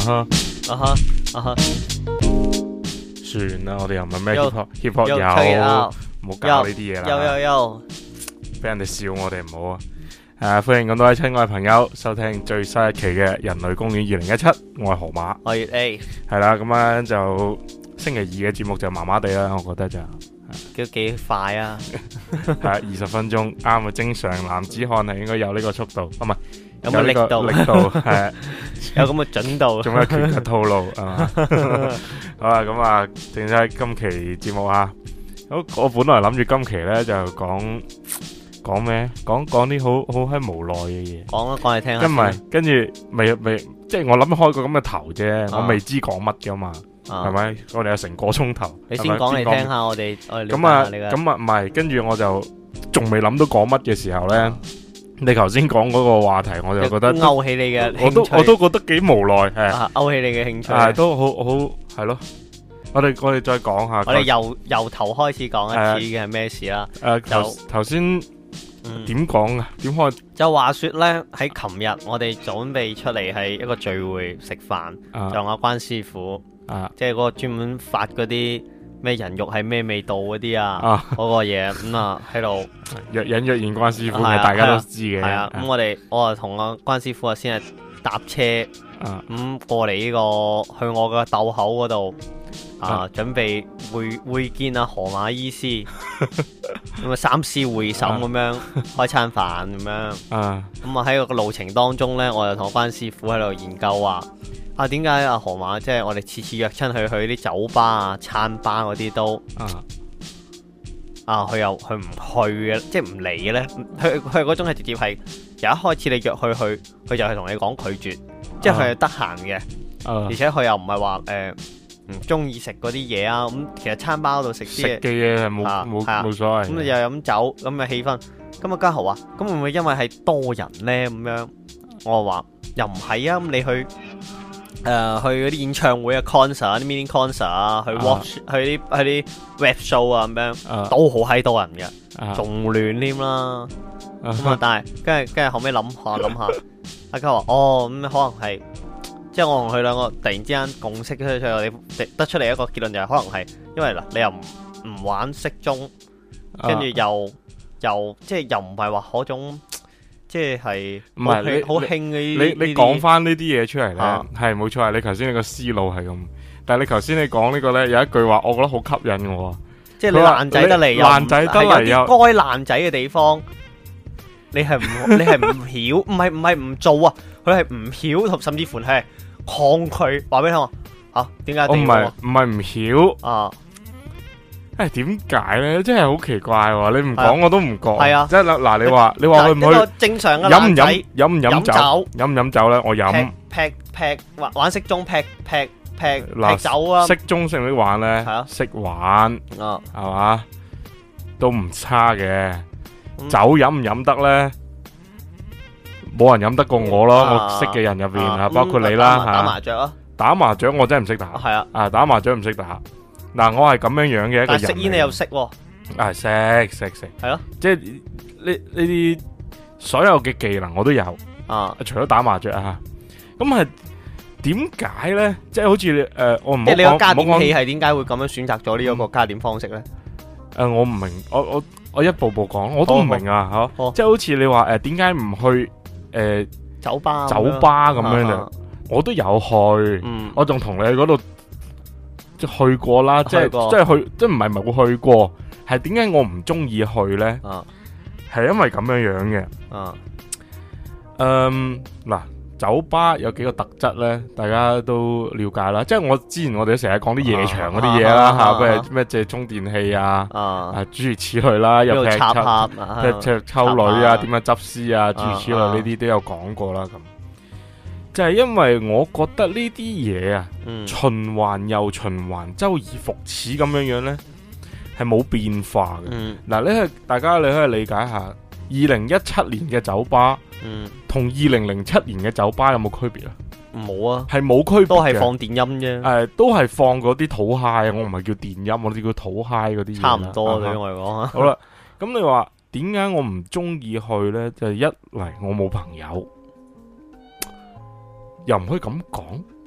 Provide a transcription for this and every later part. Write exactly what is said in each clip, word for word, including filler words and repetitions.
哈啊哈啊哈， 算啦，我哋又唔係咩 hip 又 hop hip hop 又 check it 有， out， 唔好搞呢啲嘢有啦， 有有， 俾人哋笑我哋唔好啊！誒，歡迎咁多位親愛嘅朋友收聽最新一期嘅人類公園二零一七，我係河馬， 我係 A， 係啦，咁樣就星期二嘅節目就麻麻地啦，我覺得就都幾快啊！ 係二十分鐘啱啊，正常男子漢係應該有呢個速度，啊唔係有冇力呢個度？ 力度係。 有咁嘅準度， 仲有拳嘅套路係嘛？好啦，咁啊，正式今期節目啊，好，我本來諗住今期咧就講講咩？講講啲好好閪無奈嘅嘢。 講啊，講嚟聽下。 跟埋跟住未未，即係我諗開個咁嘅頭啫， 啊我未知講乜噶嘛， 啊係咪？我哋有成個鐘頭， 你先係咪講嚟聽。下，我哋我哋咁啊， 了解下你嘅咁啊，唔係，跟住我就仲未諗到講乜嘅時候咧啊， 你頭先講嗰個話題，我就覺得都勾起你嘅興趣， 我都我都覺得幾無奈，係。 啊勾起你嘅興趣。 係都好好係咯，我哋我哋再講下。 我哋由由頭開始講一次嘅係咩事啦？ 誒頭就頭先嗯點講啊？點開就話說咧，喺琴日我哋準備出嚟係一個聚會食飯， 啊就阿關師傅， 啊即係嗰個專門發嗰啲咩人肉係咩味道嗰啲啊， 啊！ 嗰個嘢咁啊喺度若隱若現關師傅係啊嘅，大家都知嘅。 係啊，咁我哋我啊同阿關師傅啊先係搭車啊咁過嚟呢個去我嘅竇口嗰度啊啊， 準備會會見阿河馬醫師，咁啊三思會審咁樣開餐飯咁樣。 啊咁啊喺個路程當中呢，我就同關師傅喺度研究話啊，點解阿河馬即係我哋次次約親去去啲酒吧啊、餐吧嗰啲都啊啊，佢又佢唔去嘅，即係唔嚟嘅呢。佢佢嗰種係直接係由一開始你約佢去，佢就係同你講拒絕，即係佢係得閒嘅， 啊而！且佢又唔係話誒唔中意食嗰啲嘢啊。咁其實餐吧嗰度食食啲嘢， 嘅嘢係冇啊冇係啊冇所謂咁你嘅。 又飲酒咁嘅氣氛。咁啊嘉豪話：咁會唔會因為係多人呢？咁樣我話又唔係啊。咁你去誒、呃、去嗰啲演唱會啊、concert 啲 mini concert 啊，去 watch、去啲去啲 web show 啊咁樣， 啊都好閪多人嘅， 啊仲亂添啦。咁啊啊， 但係跟住跟住後尾諗下諗下，阿嘉話：哦咁可能係即係我同佢兩個突然之間共識咗出嚟，我哋得出嚟一個結論就係可能係因為嗱你又唔唔玩骰盅。跟住又又即係又唔係話嗰種即係唔係你好興嘅呢你啲你講翻呢啲嘢出嚟咧， 啊係冇錯，係你頭先你個思路係咁，但係你頭先你講呢個咧有一句話，我覺得好吸引我啊。 即係你佢話爛仔得嚟， 你又唔爛仔得嚟係有又啲該爛仔嘅地方，你係唔你係唔曉，唔係唔係唔做啊，佢係唔曉同甚至乎係抗拒。話俾你聽話嚇，點解一我唔係定要唔係唔曉。 啊？ 誒，點解咧？真係好奇怪喎！你唔講我都唔覺。 係啊即係嗱嗱，你話你話去唔一個去正常嘅飲唔爛仔飲飲唔飲酒？ 飲酒飲唔飲酒咧？我飲。 劈劈劈玩玩骰盅劈劈劈嗱劈酒啊！ 識中識唔識玩咧係啊？ 識玩啊係嘛？都唔差嘅。 嗯酒飲唔飲得咧？冇人飲得過我咯。 啊我識嘅人入邊啊， 啊包括你咁啦打打麻吓。 雀啊， 打麻雀我真係唔識打。 係啊， 啊，打麻雀唔識打。嗱，我係咁樣樣嘅一個人嚟。 但係食煙你又識喎， 啊，識識識。 係咯， 即係呢呢啲所有嘅技能我都有。 啊， 除咗打麻雀啊，咁係點解咧？即係好似誒、呃，我唔好即係你個講加點唔好講器係點解會咁樣選擇咗呢一個加點方式咧？ 誒，我唔明，我我我一步步講，我都唔明啊，吓、 好即係好似你話誒，點解唔去誒、呃、 酒吧酒吧咁樣啊就，我都有去， 嗯， 我仲同你去嗰度即係去過啦，即係去過即係去，即係唔係冇去過，係點解我唔中意去咧？ 啊係因為咁樣樣嘅。 啊嗯，嗱，酒吧有幾個特質咧，大家都了解啦。即係我之前我哋都成日講啲夜場嗰啲嘢啦，吓， 啊啊啊譬如咩借充電器啊， 啊， 啊諸如此類啦，又劈呢度插抽盒啊， 劈劈抽女啊， 插點樣執屍啊，諸如此類啊呢啲都有講過啦。咁就係因為我覺得呢啲嘢啊， 嗯循環又循環，周而復始咁樣樣咧，係冇變化嘅。 嗯嗱，你係大家你可以理解下，二零一七年嘅酒吧。 嗯， 同二零零七年嘅酒吧有冇區別啊？ 冇啊， 係冇區別嘅， 都係放電音啫， 誒，都係放嗰啲土嗨啊！我唔係叫電音，我哋叫土嗨嗰啲嘢啦。 差唔多對啊我嚟講啊。 好啦，咁你話點解我唔中意去呢？就係一嚟我冇朋友，又唔可以咁講，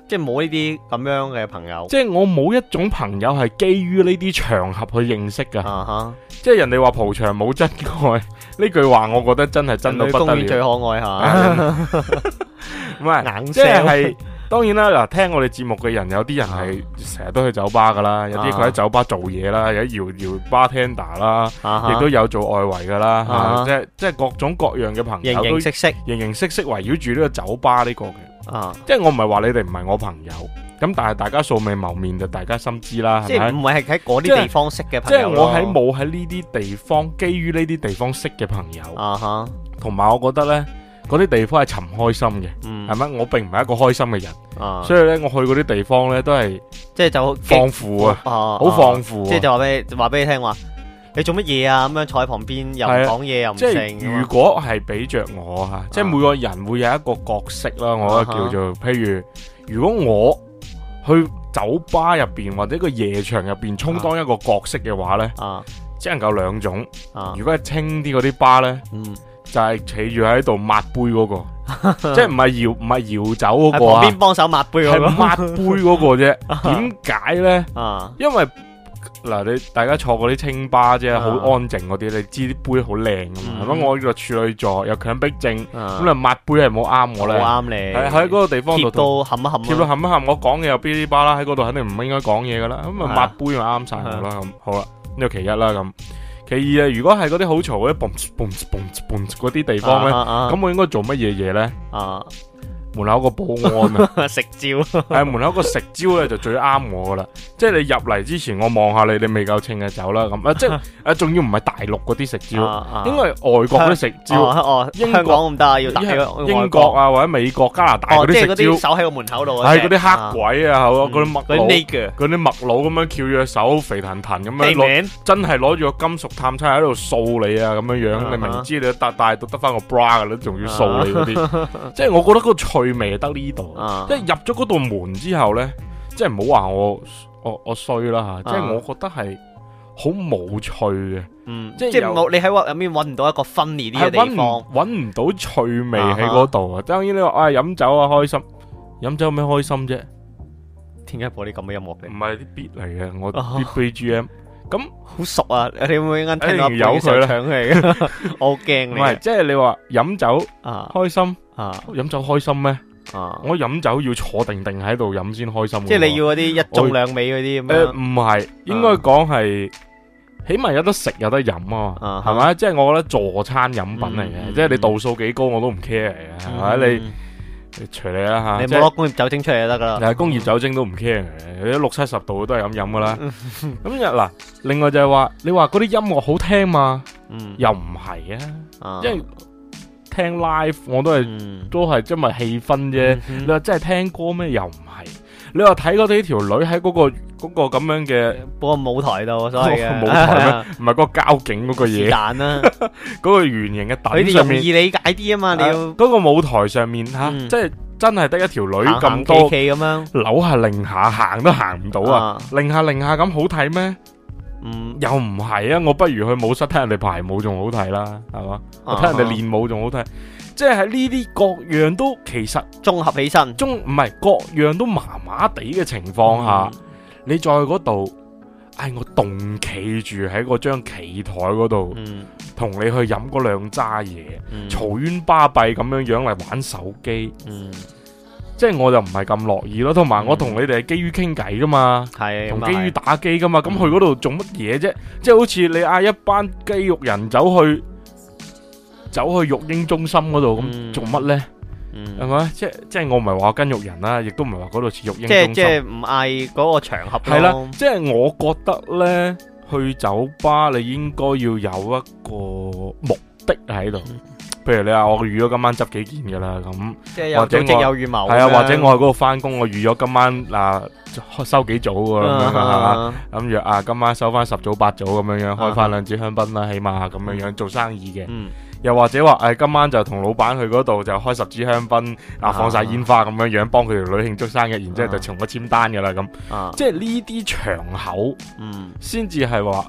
即係冇呢啲咁樣嘅朋友。 即係我冇一種朋友係基於呢啲場合去認識噶。 啊哈！ 即係人哋話蒲場冇真愛呢句話，我覺得真係真到不得公園最了。 可愛嚇， 唔係， 硬即係聲係當然啦。嗱，聽我哋節目嘅人有啲人係成日都去酒吧噶啦，有啲佢喺酒吧做嘢啦，有啲搖搖 bartender 啦， 啊亦都有做外圍噶啦， 啊嚇即係即係各種各樣嘅朋友形都形色色形形色色圍繞住呢個酒吧呢個嘅。 啊！ 即係我唔係話你哋唔係我朋友，咁但係大家素未謀面就大家心知啦，係咪？ 即係唔係係喺嗰即係啲地方識嘅即朋友咯係我喺冇喺呢啲地方，基於呢啲地方識嘅朋友， 啊哈， 同埋我覺得呢，嗰啲地方係尋開心嘅， 嗯係咪？我並唔係一個開心嘅人， 啊， 所以呢，我去嗰啲地方呢，都係即係就放負啊， 啊， 好放負啊。 即係就話俾你話俾你聽話，你做乜嘢啊？咁樣坐喺旁邊又唔係啊講嘢又唔即係成， 如果係俾着我吓，即係每個人會有一個角色啦，我覺得叫做，譬如如果我去酒吧入邊或者個夜場入邊充當一個角色嘅話呢， 啊只能夠兩種。 啊， 如果係清啲嗰啲吧呢， 嗯， 就係企住喺度抹杯嗰個，即係唔係搖唔係搖酒嗰喺個啊， 旁邊幫手抹杯係嗰抹杯嗰個啫。點解呢？ 個啊因為嗱，你大家坐嗰啲清吧啫，好啊安靜嗰啲，你知啲杯好靚噶嘛？ 嗯係咪？我呢個處女座有強迫症， 啊咁你抹杯係冇啱我咧。 好啱你， 喺喺嗰個地方度貼到冚一冚貼到啊， 冚一冚，我講嘢又嗶哩吧啦，喺嗰度肯定唔應該講嘢噶啦。咁啊係啊抹杯咪啱晒我啦。咁好啦，呢個其一啦咁。其二啊，如果係嗰啲好嘈嗰啲 boom boom boom boom 嗰啲地方咧， 啊咁我應該做乜嘢嘢咧？ 啊門口個保安啊， 啊食蕉係門口個食蕉咧就最啱我噶啦。即係你入嚟之前，我望下你，你未夠稱嘅走啦咁啊，即係啊，仲要唔係大陸嗰啲食蕉， 啊應該係外國嗰啲食蕉， 哦哦， 英國香港咁得啊，要打去英國啊或者美國、加拿大嗰哦，即係嗰啲食蕉， 啲守喺個門口度嗰隻， 係嗰啲黑鬼啊，好嗰啲麥嗰啲佬。 nigger， 嗰啲麥佬咁樣翹住隻手，肥騰騰咁樣地攞， 名真係攞住個金屬探測喺度掃你啊咁樣樣， 啊你明知你都帶帶到得翻個 bra 噶啦，仲要掃你嗰啲，即係我覺得嗰個趣味係得呢度， 啊即係入咗嗰道門之後咧，即係唔好話我我我衰啦吓，即係我覺得係好冇趣嘅， 嗯， 即係有即係冇你喺入面揾唔到一個分裂啲嘅係揾地方唔，揾唔到趣味喺嗰度啊！當然你話啊飲酒啊開心，飲酒有咩開心啫？ 點解播啲咁嘅音樂唔嘅？ 係啲 beat 嚟嘅，我啊啲 B G M 咁。 好熟啊！你會唔會啱聽到一定要由佢啦唱佢嘅？我好驚你唔係，即係你話飲酒啊開心， 啊飲酒開心咩？ 啊！ 我飲酒要坐定定喺度飲先開心㗎喎。 即係你要嗰啲一中兩尾嗰啲咁誒樣唔係，應該講係起碼有得食有得飲啊啊嘛，係咪？即係我覺得助餐飲品嚟嗯嘅，即係你度數幾高我都唔 care 嘅，係咪？你嗯你隨你啦嚇， 你即係冇攞工業酒精出嚟就得噶啦。 但係工業酒精都唔 care 嘅，你都六七十度都係咁飲噶啦。咁又嗱，另外就係話你話嗰啲音樂好聽嘛， 嗯， 又唔係啊， 啊因為聽 live 我都係。 嗯都係因為氣氛啫。 嗯哼你話真係聽歌咩？又唔係。你話睇嗰啲條女喺嗰、個嗰、個咁樣嘅嗰個舞台度，所謂嘅舞台咩？唔係嗰個交警嗰個是嘢， 但啦， 嗰個圓形嘅佢哋凳上面， 容易理解啲啊嘛，你要嗰、個舞台上面吓， 嗯即係真係得一條女咁行行多企企咁樣， 扭下擰下行都行唔到啊！ 啊擰下擰下咁好睇咩？ 嗯， 又唔係啊！我不如去舞室睇人哋排舞仲好睇啦，係嘛？我睇人哋練舞仲好睇。即係喺呢啲各樣都其實綜合起身， 中唔係各樣都麻麻地嘅情況下，你再嗰度，唉，我動企住喺嗰張企台嗰度， 嗯同你去飲嗰兩揸嘢， 嗯嘈冤巴閉咁樣樣嚟玩手機， 嗯， 即係我就唔係咁樂意咯。同埋我同你哋係基於傾偈噶嘛， 係同基於咁啊係打機噶嘛，咁去嗰度做乜嘢啫？即係好似你嗌一班肌肉人走去走去育嬰中心嗰度咁嗯做乜呢？ 嗯係咪？即係即係我唔係話跟肉人啦，亦都唔係話嗰度似育嬰中即係心。 即係唔嗌嗰個場合咯係啦，即係我覺得呢，去酒吧你應該要有一個目的喺度。譬如你話我預咗今晚執幾件噶啦，咁即係有或者組織我有預謀咁樣， 係啊，或者我喺嗰度翻工，我預咗今晚嗱收幾組噶咁樣係嘛， 啊諗住啊今晚收翻十組八組咁樣樣，開翻兩支香檳啦，起碼咁樣樣做生意嘅。 嗯又或者話誒今晚就同老闆去嗰度就開十支香檳啊，放晒煙花咁樣樣，幫佢條女慶祝生日，然之後就從我簽單噶啦咁。 啊， 即係呢啲場口嗯先至係話誒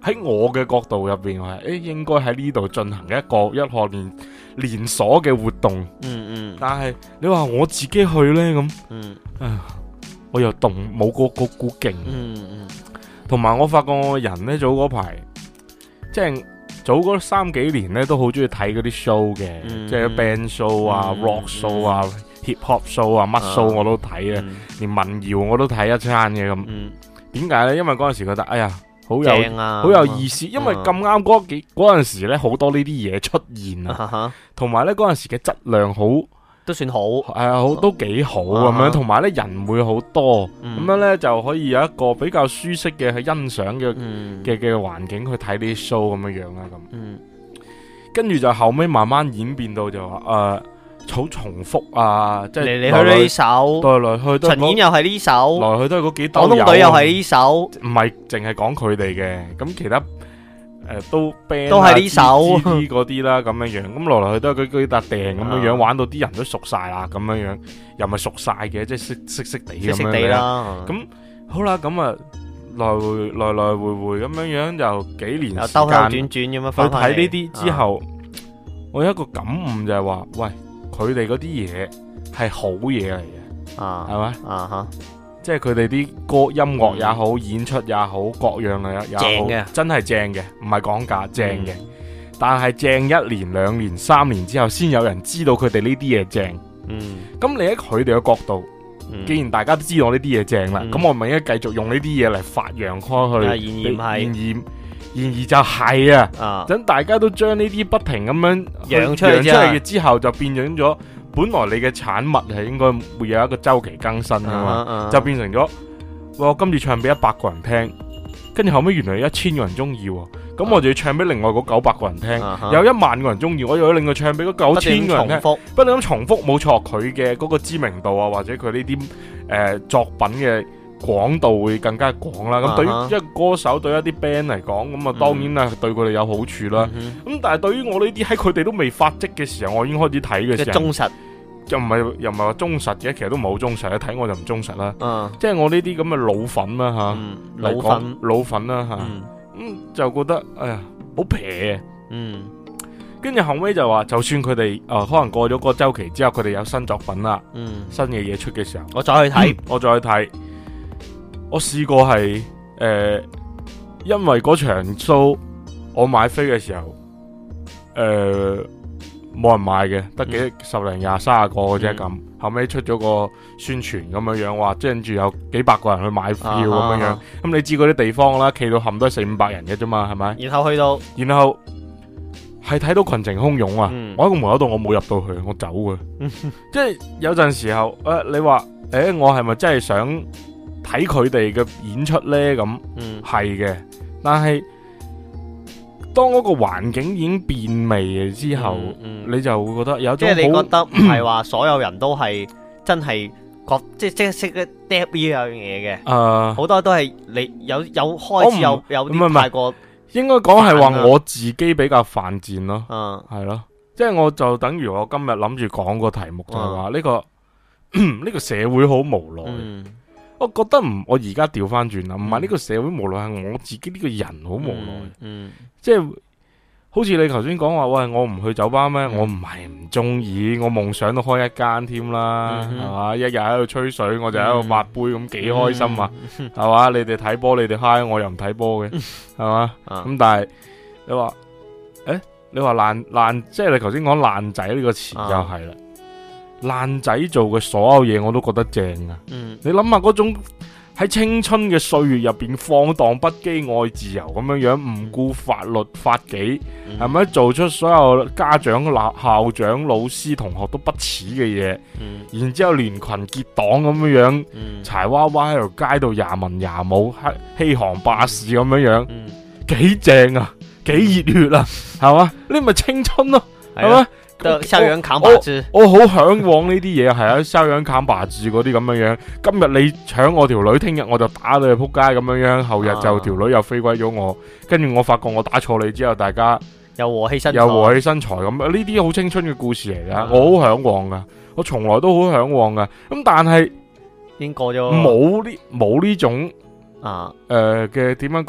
喺我嘅角度入邊，我係誒應該喺呢度進行一個一項連連鎖嘅活動。 嗯嗯。 但係你話我自己去呢，咁， 嗯， 啊，我又動冇嗰嗰股勁。 嗯嗯。 同埋我發覺我人呢，早嗰排，即係早嗰三幾年呢，都好中意睇嗰啲 show 嘅， 嗯、 即係 band show 啊、 嗯、 rock show 啊、嗯、hip hop show 啊，乜 show 我都睇啊， 嗯、 連民謠我都睇一餐嘅咁。點解呢？因為嗰陣時覺得，哎呀，好有好、啊、有意思，因為咁啱嗰幾嗰陣時呢，好多呢啲嘢出現啊，同埋呢嗰陣時嘅質量好。 都算好， 係啊，好都幾好咁樣，同埋咧人會好多，咁、嗯、樣咧就可以有一個比較舒適嘅去欣賞嘅嘅嘅環境去睇啲 show 咁樣樣啦咁。嗯，跟住就後尾慢慢演變到就話誒，好、呃、重複啊，即係嚟嚟去去呢首，來來去都陳演又係呢首， 來去都係嗰幾兜友， 廣東隊又係呢首， 唔係淨係講佢哋嘅，咁其他。誒、呃，都 band 都係呢首嗰啲啦，咁樣樣，咁來來去都係嗰嗰笪訂咁樣樣，玩到啲人都熟晒啦，咁樣樣，又咪熟晒嘅，即係識識識地咁樣啦。咁好啦，咁啊來回來來回回咁樣樣，就幾年時間， 兜兜轉轉咁樣翻翻嚟。 去睇呢啲之後，我有一個感悟就係話，喂，佢哋嗰啲嘢係好嘢嚟嘅， 啊， 係咪？ 啊哈。 即係佢哋啲歌音樂也好，嗯、演出也好，各樣嘅也好， 正嘅， 真係正嘅，唔係講假，正嘅。嗯、但係正一年、兩年、三年之後，先有人知道佢哋呢啲嘢正。嗯，咁你喺佢哋嘅角度，嗯、既然大家都知道呢啲嘢正啦，咁、嗯、我咪應該繼續用呢啲嘢嚟發揚開去。然而然而然而就係啊，等、啊、大家都將呢啲不停咁樣養出嚟嘅之後，就變咗咗。本來你嘅產物係應該會有一個周期更新噶嘛， uh-huh, uh-huh. 就變成咗，我今次唱俾一百個人聽，跟住後尾原來有一千個人中意，咁、uh-huh. 我就要唱俾另外嗰九百個人聽， uh-huh. 有一萬個人中意，我又要另外唱俾嗰九千個人聽，不斷咁重複，冇錯，佢嘅嗰個知名度啊，或者佢呢啲誒作品嘅廣度會更加廣啦。咁、uh-huh. 對於一個歌手，對一啲 band 嚟講，咁啊當然啦，對佢哋有好處啦。咁、uh-huh. 但係對於我呢啲喺佢哋都未發跡嘅時候，我已經開始睇嘅時候， 忠實。 又唔係又唔係話忠實嘅，其實都唔係好忠實，一睇我就唔忠實啦。 嗯， 即係我呢啲咁嘅老粉啦吓、 嗯，老粉老粉啦吓，咁、 嗯嗯、就覺得哎呀好撇。 嗯， 跟住後尾就話，就算佢哋誒可能過咗個周期之後，佢哋有新作品啦，嗯，新嘅嘢出嘅時候， 我再去睇、嗯， 我再去睇。我試過係誒、呃，因為嗰場 show 我買飛嘅時候，誒、呃。冇人買嘅，得幾、嗯、十零廿三十個嘅啫咁。後尾出咗個宣傳咁樣樣，話即係跟住有幾百個人去買票咁樣、啊、樣。咁、啊嗯、你知嗰啲地方啦，企到冚都係四五百人嘅啫嘛，係咪？ 然後去到， 然後係睇到群情洶湧啊、嗯！我喺個門口度，我冇入到去，我走嘅。即係有陣時候，誒、呃，你話，誒、欸，我係咪真係想睇佢哋嘅演出咧？咁，係嘅，但係。當嗰個環境已經變味之後、嗯嗯，你就會覺得有種即係你覺得唔係話所有人都係真係覺即係即係識得 dap 呢樣嘢嘅，誒、uh,，好多都係你有有開始有有啲太過， 應該講係話我自己比較犯賤咯，嗯，係咯，即係我就等於我今日諗住講個題目就係話呢個呢、uh, 個社會好無奈。嗯，我覺得唔，我而家調翻轉啦，唔係呢個社會無奈，係我自己呢個人好無奈。嗯，嗯即係好似你頭先講話，喂，我唔去酒吧咩、嗯？我唔係唔中意，我夢想都開一間添啦，係、嗯、嘛？一日喺度吹水，我就喺度抹杯咁，幾、嗯、開心啊，係、嗯、嘛？你哋睇波，你哋嗨，我又唔睇波嘅，係、嗯、嘛？咁、嗯、但係你話，誒，你話爛爛，即係你頭先講爛仔呢個詞就係啦。爛仔做嘅所有嘢我都覺得正啊！嗯、你諗下嗰種喺青春嘅歲月入邊放蕩不羈、愛自由咁樣樣，唔顧法律法紀，係、嗯、咪做出所有家長、校長、老師、同學都不齒嘅嘢？然之後連群結黨咁樣樣，嗯、柴娃娃喺條街度廿文廿武、欺行霸市咁樣樣，幾、嗯、正啊！幾熱血啊！係嘛？呢咪青春咯、啊，係嘛？ 校園扛把子， 我好向往呢啲嘢，係啊，校園扛把子嗰啲咁樣樣。今日你搶我條女，聽日我就打你去扑街咁樣樣，後日就條女又飛歸咗我，跟住我發覺我打錯你之後，大家又和氣身又和氣生財咁。呢啲好青春嘅故事嚟噶，我好向往噶，我從來都好向往噶。咁但係已經過咗， 冇呢冇呢種啊誒嘅點樣講？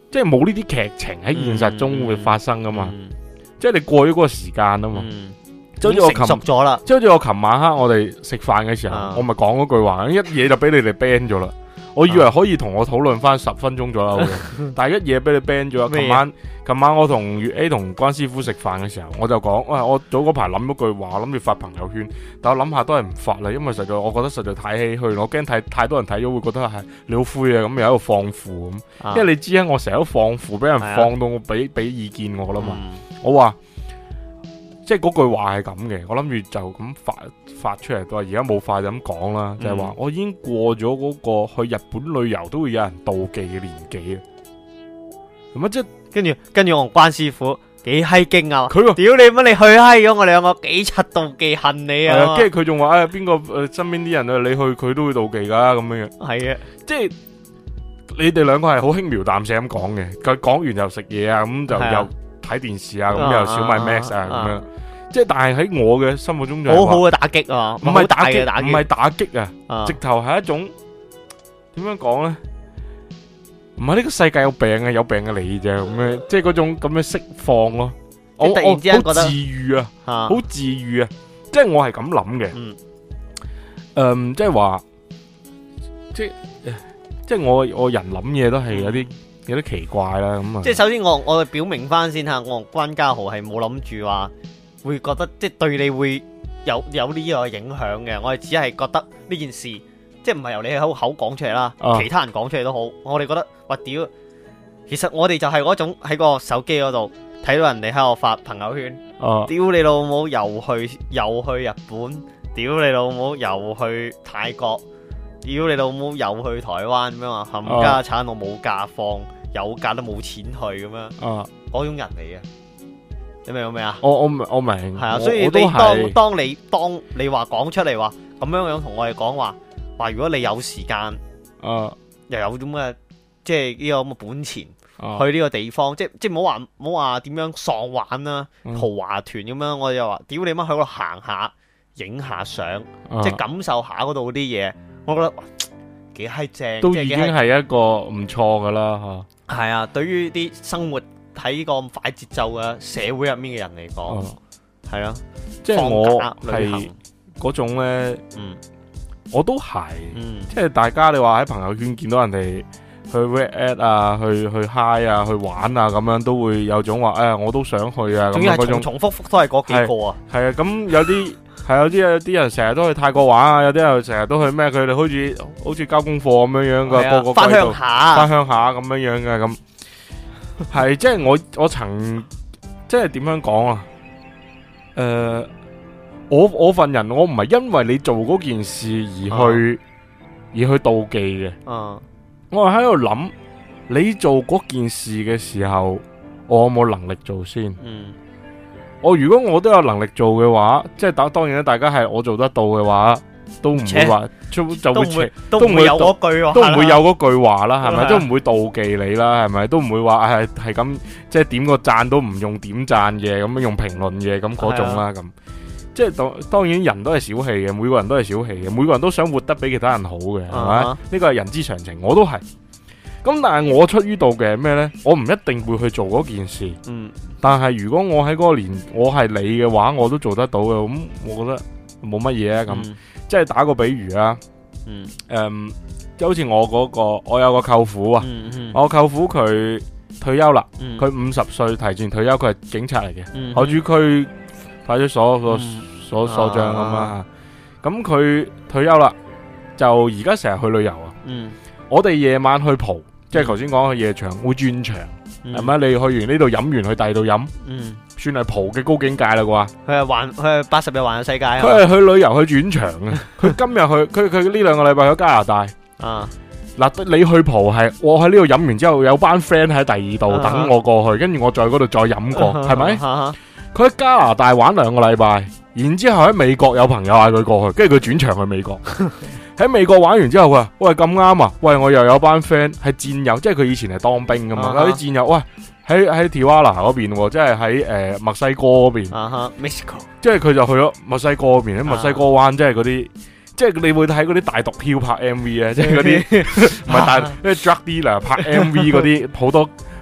即係冇呢啲劇情喺現實中會發生噶嘛， 嗯即係你過咗嗰個時間啊嘛。 嗯即係好似我已經成熟琴， 咗啦， 即係好似我琴晚黑我哋食飯嘅時候， 啊我咪講嗰句話，一嘢就俾你哋 ban 咗啦。我以為可以同我討論翻十分鐘左右嘅，但係一嘢俾你 ban 咗。 咩嘢琴晚琴晚我同粵 A 同關師傅食飯嘅時候，我就講，喂，我早嗰排諗咗句話，諗住發朋友圈，但我諗下都係唔發啦，因為實在我覺得實在太唏噓，我驚太太多人睇咗會覺得係你好灰啊，咁又喺度放負咁。 啊因為你知啊，我成日都放負，俾人係啊放到我俾俾意見我啦嘛。 嗯我話即係嗰句話係咁嘅，我諗住就咁發發出嚟，都話而家冇快就咁講啦，就係話嗯我已經過咗嗰個去日本旅遊都會有人妒忌嘅年紀啊。咁啊，即係跟住跟住我同關師傅幾閪勁啊！ 佢話屌你乜你去閪咗我哋兩個幾柒妒忌恨你係啊， 啊！ 跟住佢仲話誒邊個誒身邊啲人啊，你去佢都會妒忌噶咁樣樣， 係啊， 即係你哋兩個係好輕描淡寫咁講嘅，佢講完又食嘢啊，咁就係啊又睇電視啊，咁啊又小米 Max 啊啊咁樣，即係但係喺我嘅心目中就係話好好嘅打擊啊， 唔係打擊， 好大嘅打擊， 唔係打擊啊， 啊直頭係一種點樣講咧？唔係呢個世界有病啊，有病嘅你啫，咁樣即係嗰種咁樣釋放咯。我即係突然之間覺得我好治愈啊， 啊好治愈啊！即係我係咁諗嘅。 嗯誒，即係話，即係即係我我人諗嘢都係有啲有啲奇怪啦。咁啊， 即係首先我我表明翻先吓，我同關家豪係冇諗住話會覺得即係對你會有有呢個影響嘅，我哋只係覺得呢件事即係唔係由你口口講出嚟啦， 啊其他人講出嚟都好，我哋覺得哇屌，其實我哋就係嗰種喺個手機嗰度睇到人哋喺度發朋友圈， 啊屌你老母又去又去日本，屌你老母又去泰國，屌你老母又去台灣咁樣啊，冚家產我冇假放，有假都冇錢去咁樣。 啊！ 嗰種人嚟嘅，你明唔明啊？ 我我明我明， 係啊， 我所以你我都當係當你當你話講出嚟話咁樣樣同我哋講話，話如果你有時間啊又有咁嘅即係呢個咁嘅本錢啊去呢個地方，即即唔好話唔好話點樣喪玩啦， 嗯豪華團咁樣，我哋就話屌你媽去嗰度行下，影下相， 啊即係感受下嗰度啲嘢，我覺得哇幾閪正， 都已經即係幾閪係一個唔錯噶啦係啊！對於啲生活喺呢個咁快節奏嘅社會入面嘅人嚟吓。 講， 啊係啊， 即係我放假旅係行嗰種咧， 嗯我都係。 嗯即係大家你話喺朋友圈見到人哋去 red at 啊，去去 high 啊，去玩啊，咁樣都會有種話，誒，我都想去啊，咁仲要係樣嗰種重重複複都係嗰幾個啊， 係啊。咁有啲係有啲有啲人成日都去泰國玩啊，有啲人成日都去咩？佢哋好似好似交功課咁樣樣噶， 係啊個個翻鄉歸度下翻鄉下咁樣樣嘅咁。係即係我我曾即係點樣講啊？誒、我我份人我唔係因為你做嗰件事而去、而去妒忌嘅。 嗯我係喺度諗，你做嗰件事嘅時候，我有冇能力做先？ 嗯我如果我都有能力做嘅話，即係當當然啦，大家係我做得到嘅話，都唔會話就就會都唔會都都唔會唔會有嗰句話， 都唔會有嗰句話啦，係咪？ 係啊都唔會妒忌你啦，係咪？都唔會話係係咁，即係點個讚都唔用點讚嘅，咁樣用評論嘅咁嗰種啦，咁即係當當然人都係小氣嘅，每個人都係小氣嘅，每個人都想活得比其他人好嘅，係咪？ 啊呢個係人之常情，我都係。咁但係我出於妒忌係咩呢？我唔一定會去做嗰件事， 嗯但係如果我喺嗰個年，我係你嘅話，我都做得到嘅，咁我覺得冇乜嘢啊咁。 嗯即係打個比喻啊。 嗯誒，即係好似我嗰個，我有個舅父啊， 嗯嗯我舅父佢退休啦， 嗯佢五十歲提前退休，佢係警察嚟嘅， 嗯海珠區派出所個嗯所所長咁啊。咁佢退休啦，就而家成日去旅遊啊。 嗯我哋夜晚去蒲，即係頭先講去夜場會轉場， 嗯係咪？你去完呢度飲完去第二度飲， 嗯， 算係蒲嘅高境界啦啩。 佢係環佢係八十日環遊世界啊， 佢係去旅遊去轉場啊。佢今日去，佢佢呢兩個禮拜去加拿大。 啊嗱，你去蒲係我喺呢度飲完之後，有班 friend 喺第二度啊等我過去，跟住我再嗰度再飲過，係咪？ 咪？ 佢喺加拿大玩兩個禮拜，然之後喺美國有朋友嗌佢過去，跟住佢轉場去美國。喺美國玩完之後，佢話：喂，咁啱啊！喂，我又有班 friend 係戰友，即係佢以前係當兵噶嘛， 啊有啲戰友，喂，喺喺 Tijuana 嗰邊喎，即係喺誒墨西哥嗰邊， 啊哈 Mexico 即係佢就去咗墨西哥嗰邊，喺墨西哥灣，即係嗰啲。即係你會睇嗰啲大毒梟拍 M V 咧，即係嗰啲唔係大，即係 drug dealer 拍 M V 嗰啲好多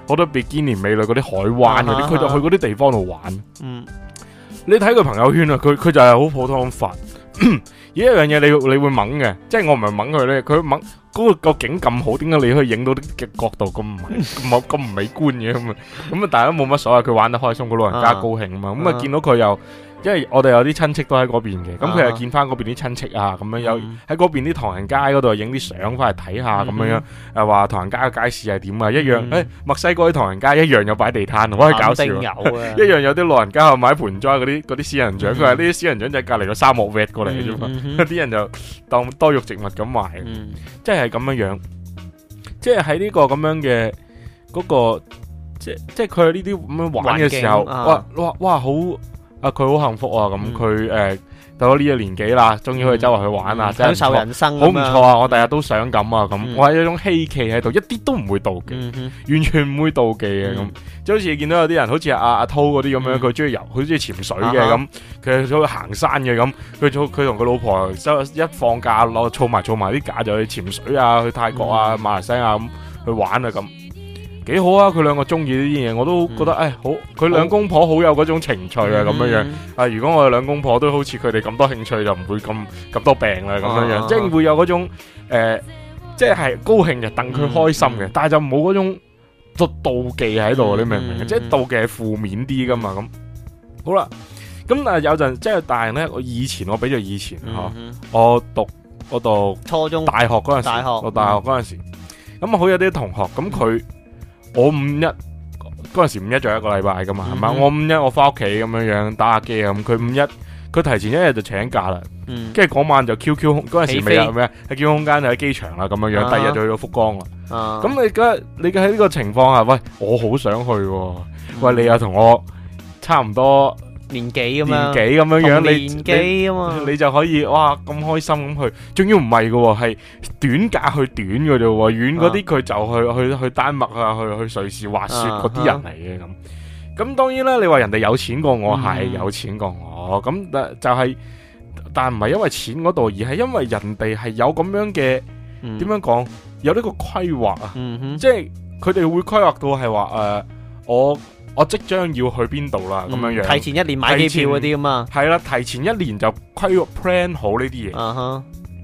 好多比堅尼美女嗰啲海灣嗰啲，佢就去嗰啲地方度玩。 嗯， 你睇佢朋友圈啊，佢佢就係好普通咁發。而一樣嘢你你會掹嘅，即係我唔係掹佢咧，佢掹嗰個個景咁好，點解你可以影到啲嘅角度咁唔咁咁唔美觀嘅咁啊？咁啊，大家冇乜所謂，佢玩得開心，個老人家高興啊嘛。咁啊，見到佢又，因為我哋有啲親戚都喺嗰邊嘅，咁佢又見翻嗰邊啲親戚啊，咁樣有喺嗰邊啲唐人街嗰度影啲相翻嚟睇下，咁樣樣誒話唐人街嘅街市係點啊？一樣誒，墨西哥啲唐人街一樣有擺地攤，好搞笑，一樣有啲老人家買盆栽嗰啲嗰啲仙人掌，佢話呢啲仙人掌就係隔離個沙漠挖過嚟嘅啫嘛，啲人就當多肉植物咁賣，即係咁樣樣，即係喺呢個咁樣嘅嗰個，即即係佢呢啲咁樣玩嘅時候，哇哇哇好〜啊！佢好幸福啊！咁佢誒到咗呢個年紀啦，終於可以周圍去玩啊！ 享受人生， 好唔錯啊！我第日都想咁啊！咁我係一種希冀喺度，一啲都唔會妒忌，完全唔會妒忌嘅咁。即好似見到有啲人，好似阿阿濤嗰啲咁樣，佢中意游，佢中意潛水嘅咁，佢中意行山嘅咁，佢佢同佢老婆一放假攞儲埋儲埋啲假就去潛水啊，去泰國啊、馬來西亞咁去玩啊咁。幾好啊！佢兩個中意呢啲嘢，我都覺得誒、嗯哎、好。佢兩公婆好有嗰種情趣啊，咁樣樣。啊，如果我哋兩公婆都好似佢哋咁多興趣，就唔會咁咁多病啦，咁樣樣。啊、即係會有嗰種誒、呃，即係高興就戥佢開心嘅，嗯、但係就冇嗰種妒忌喺度，嗯、你明唔明？嗯、即係妒忌係負面啲噶嘛。咁好啦，咁啊有陣即係大人咧，我以前我比較以前吓、嗯嗯，我讀我讀初中、 大學嗰陣時， 大學我大學嗰陣時，咁啊好有啲同學咁佢。我五一嗰陣時五一仲有一個禮拜噶嘛，係嘛、嗯？我五一我翻屋企咁樣樣打下機啊，咁佢五一佢提前一日就請假啦，跟住嗰晚就 Q Q 嗰陣時未有咩喺 Q Q 空間就喺機場啦咁樣樣，啊、第二日就去到福岡啦。咁、啊、你而家你喺呢個情況下，喂，我好想去、啊，嗯、喂，你又同我差唔多。 年紀咁樣， 年紀咁樣樣， 年紀啊嘛， 你就可以哇咁開心咁去，仲要唔係嘅，係短假去短嘅啫，遠嗰啲佢就去去去丹麥啊，去去瑞士滑雪嗰啲人嚟嘅咁。咁當然啦，你話人哋有錢過我係、嗯、有錢過我，咁但就係、是，但唔係因為錢嗰度，而係因為人哋係有咁樣嘅，點、嗯、樣講，有呢個規劃啊，嗯、哼即係佢哋會規劃到係話誒我。我即將要去邊度啦，咁樣樣。 提前一年買機票嗰啲咁啊。係啦，提前一年就規劃 plan 好呢啲嘢。嗱、uh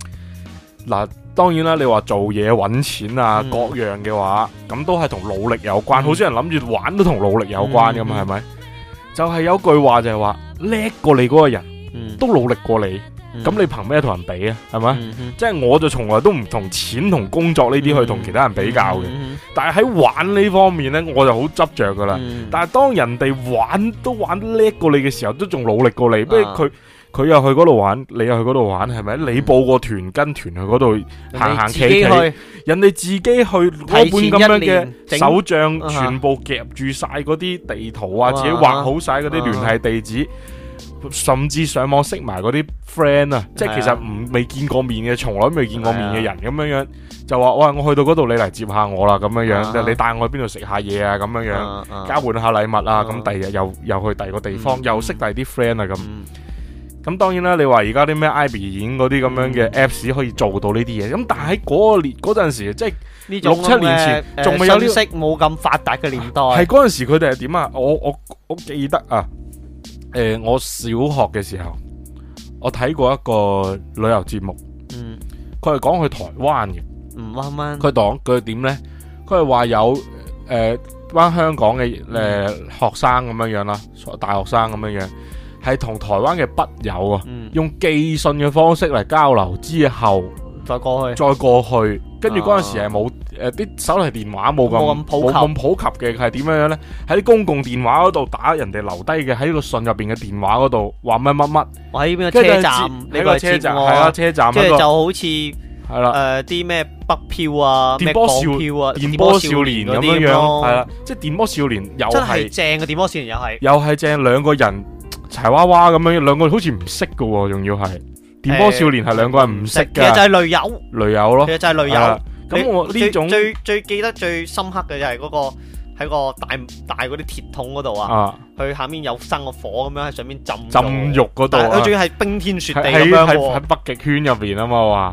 huh. 當然啦，你話做嘢揾錢啊，嗯、各樣嘅話，咁都係同努力有關。好少、嗯、人諗住玩都同努力有關噶嘛，係咪、嗯？就係、是、有句話就係話，叻過你嗰個人，嗯、都努力過你。咁、嗯、你憑咩同人比啊？係咪？嗯嗯、即係我就從來都唔同錢同工作呢啲去同其他人比較嘅。嗯嗯嗯、但係喺玩呢方面呢，我就好執着噶啦。嗯、但係當人哋玩都玩得叻過你嘅時候，都仲努力過你。不如佢佢又去嗰度玩，你又去嗰度玩，係咪？你報個團跟團去嗰度行行企企，人哋自己去攞本咁樣嘅手帳，全部夾住晒嗰啲地圖啊，自己畫好晒嗰啲聯繫地址。甚至上網識埋嗰啲 friend 啊，即係其實唔未見過面嘅，從來未見過面嘅人咁樣樣，就話喂，我去到嗰度，你嚟接下我啦，咁樣樣，啊、你帶我去邊度食下嘢啊，咁樣樣，啊啊、交換下禮物啊，咁第二日又又去第二個地方，嗯、又識第二啲 friend 啊，咁，咁、嗯、當然啦，你話而家啲咩 Ivy 演嗰啲咁樣嘅 apps 可以做到呢啲嘢，咁但係喺嗰個年嗰陣時，即係六七年前，仲未有呢信息冇咁發達嘅年代， 係嗰陣時佢哋係點啊？我我我記得啊。誒、呃，我小學嘅時候，我睇過一個旅遊節目，嗯，佢係講去台灣嘅， 唔啱啱， 佢講佢點咧？佢係話有誒班香港嘅誒、呃、學生咁樣樣啦，大學生咁樣樣，係同台灣嘅筆友啊，嗯、用寄信嘅方式嚟交流之後， 再過去， 再過去，跟住嗰陣時係冇。誒，啲、呃、手提電話冇咁冇咁普及嘅，係點樣樣咧？喺啲公共電話嗰度打人哋留低嘅，喺個信入邊嘅電話嗰度話乜乜乜。我喺邊個車站？喺個車站係啊，車站。即係就好似係啦，誒啲咩北漂啊，電波少票啊，電波少年咁樣樣，係啦，即係電波少年又係正嘅電波少年又係，又係正兩個人柴娃娃咁樣，兩個好似唔識嘅喎，仲要係電波少年係兩個人唔識嘅，其實就係雷友，雷友咯，其實就係雷友。咁我呢種最最記得最深刻嘅就係嗰個喺個大大嗰啲鐵桶嗰度啊，佢下面有生個火咁樣喺上面浸浸浴嗰度，佢仲要係冰天雪地咁樣喎，喺北極圈入邊啊嘛話，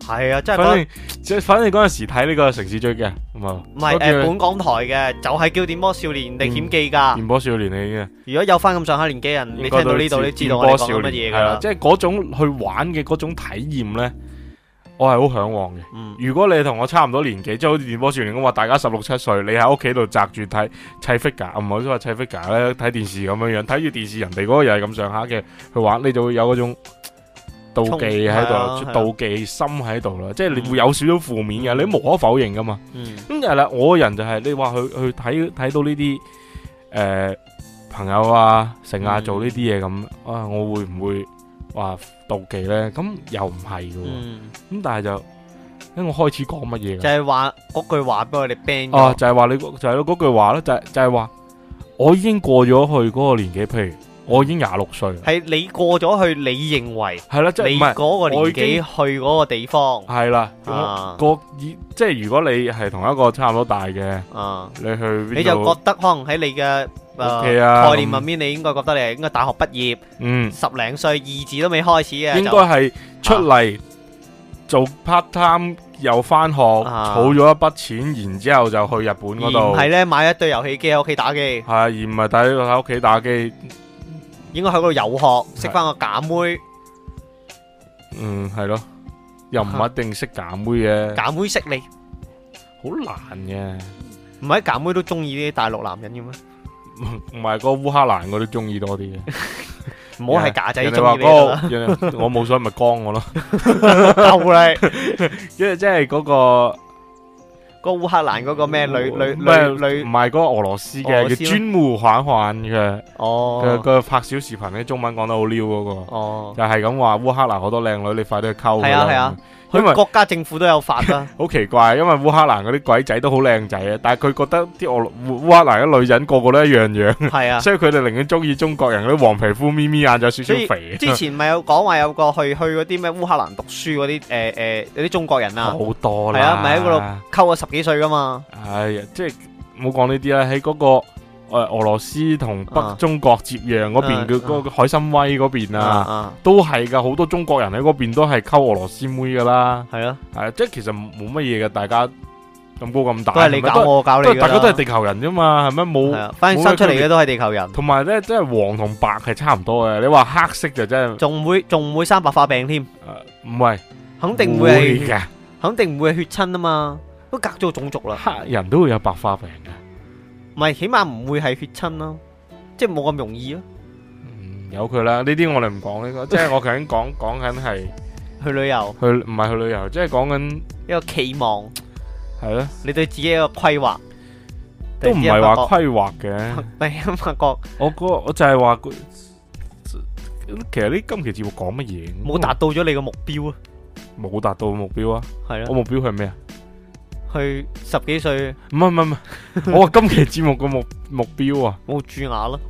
係啊，真係反覺正即係反正嗰陣時睇呢個城市追擊咁啊， 唔係誒本港台嘅，就係叫電波少年歷險記㗎。 電波少年嚟嘅。 如果有翻咁上下年紀人，你應該都聽到呢度，你知道我哋講緊乜嘢㗎啦。 係啦即係嗰種去玩嘅嗰種體驗咧，我係好向往嘅。 嗯如果你同我差唔多年紀，即係好似電波少年咁話，大家十六七歲，你喺屋企度宅住睇砌 figure，唔好話砌 figure 咧，睇電視咁樣樣，睇住電視人哋嗰個又係咁上下嘅去玩，你就會有嗰種妒忌喺度， 衝係啊妒忌心喺度啦。即係你會有少少負面嘅，你無可否認噶嘛。 嗯咁就係啦，我個人就係、你話去去睇睇到呢啲誒朋友啊，成啊嗯做呢啲嘢咁啊，我會唔會話妒忌咧？咁又唔係嘅喎。咁、 嗯， 但係就因為我開始講乜嘢就係話嗰句話俾我哋 ban 哦， 咗。 就係話你就係嗰句話咯，就係就係話我已經過咗去嗰個年紀，譬如我已經廿六歲啦， 係你過咗去，你認為係啦，即係你唔係嗰個年我已經紀去嗰個地方係啦， 啊個以即係如果你係同一個差唔多大嘅， 啊， 你去邊度你就覺得可能喺你嘅誒 OK 啊概念入面，你應該覺得你係應該大學畢業， 嗯， 十零歲，二字都未開始嘅， 應該就係出嚟做 part time 又翻學， 啊儲咗一筆錢，然之後就去日本嗰而唔度， 係咧買一堆遊戲機喺屋企打機， 係而唔係喺喺屋企打機， 應該喺嗰度遊學，識翻個假妹， 嗯係咯，又唔一定識揀妹嘅， 假妹識你， 好難嘅。 唔係假妹都中意啲大陸男人嘅咩？ 唔係個烏克蘭嗰啲中意多啲嘅， 唔好係假仔人哋中意你話嗰啦， 個人哋我冇所謂咪光我咯， 夠你因為即係嗰個個烏克蘭嗰個咩女女咩女女唔係嗰個俄羅斯俄嘅叫羅斯咩專務環環嘅嘅哦嘅拍小視頻咧，中文講得好溜嗰個， 哦， 就係咁話烏克蘭好多靚女，你快啲去溝佢啦係啊係啊， 因為佢國家政府都有法啦， 好奇怪，因為烏克蘭嗰啲鬼仔都好靚仔啊，但係佢覺得啲俄烏烏克蘭嘅女人個個都一樣樣， 係啊。 所以佢哋寧願中意中國人嗰啲黃皮膚、咪咪眼，就有少少所以肥。 之前咪有講話有個去去嗰啲咩烏克蘭讀書嗰啲誒誒有啲中國人啊， 好多啦， 係啊，咪喺嗰度溝咗十幾歲噶嘛， 唉呀，即係唔好講呢啲啦，喺嗰、個誒、呃俄羅斯同北啊中國接壤嗰邊啊嘅嗰個海參崴嗰邊啊， 啊， 都係噶，好多中國人喺嗰邊都係溝俄羅斯妹噶啦， 係咯， 係啊，即係其實冇乜嘢嘅，大家咁高咁大， 都係你係咪搞我搞你都係㗎啦， 大家都係地球人啫嘛，係咪冇？ 係啊，反正生出嚟嘅都係地球人， 同埋咧，即係黃同白係差唔多嘅。你話黑色就真係仲會仲唔會生白化病添， 誒唔係， 肯定會係嘅， 肯定唔會係血親啊嘛，都隔咗個種族啦， 黑人都會有白化病嘅。 唔係起碼唔會係血親咯，即係冇咁容易咯， 嗯，有佢啦，呢啲我哋唔講呢個，即係我頭先講講緊係去旅遊去唔係去旅遊，即係講緊一個期望， 係咯。 你對自己一個規劃， 都唔係話規劃嘅， 突然間發覺我個我就係話佢，其實呢今期節目講乜嘢？ 冇達到咗你個目標啊， 冇達到目標啊！ 係咯， 我目標係咩啊？ 去十幾歲唔係唔係唔係，我話今期節目個目目標啊， 冇蛀牙咯。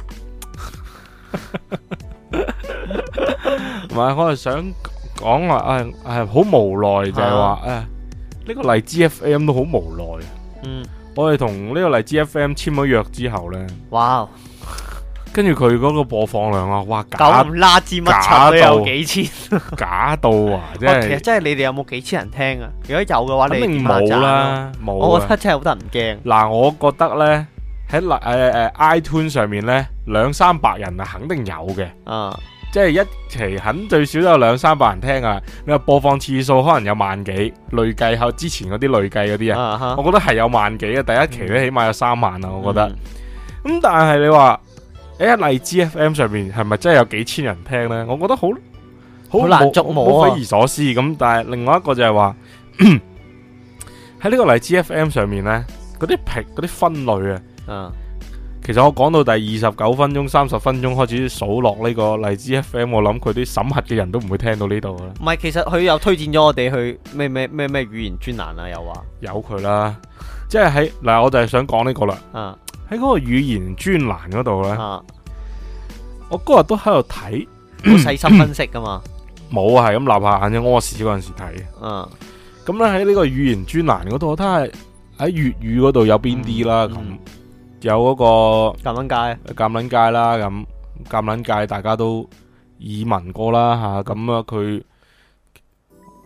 唔係我係想講話誒誒好無奈就係話誒呢個荔枝 F M 都好無奈。 嗯， 我哋同呢個荔枝 F M 簽咗約之後咧， 哇， 跟住佢嗰個播放量啊，哇假咁拉支乜柒都有幾千， 假到啊！即哇其實係真係你哋有冇幾千人聽啊？如果有嘅話，你肯定哋點下讚冇啦啊， 冇我覺啊！ 得真係好得人驚。 嗱，我覺得咧喺誒誒 iTunes 上面咧兩三百人啊，肯定有嘅。 啊， 即係一期肯最少都有兩三百人聽啊！你話播放次數可能有萬幾，累計後之前嗰啲累計嗰啲啊， 啊哈我覺得係有萬幾嘅。第一期咧起碼有三萬啊，我覺得。咁、 嗯但係你話喺荔枝 F M 上面係咪真係有幾千人聽呢？我覺得好好難捉摸啊好匪夷所思。咁但係另外一個就係話喺呢個荔枝 F M 上面呢，嗰啲評嗰啲分類啊。 啊， 其實我講到第二十九分鐘、三十分鐘開始數落呢個荔枝 F M，我諗佢啲審核嘅人都唔會聽到呢度噶啦。 唔係，其實佢又推薦咗我哋去咩咩咩咩語言專欄啊，又話有佢啦，即係喺嗱，我就係想講呢個啦。 啊喺嗰個語言專欄嗰度呢， 啊， 我嗰日都喺度睇， 好細心分析噶嘛， 冇啊，係咁立下眼睛屙屎嗰陣時睇。 啊， 咁咧喺呢個語言專欄嗰度，我睇下喺粵語嗰度有邊啲啦。咁、 嗯有嗰個咁撚街鑑撚界啦，咁鑑撚界大家都耳聞過啦吓，咁啊佢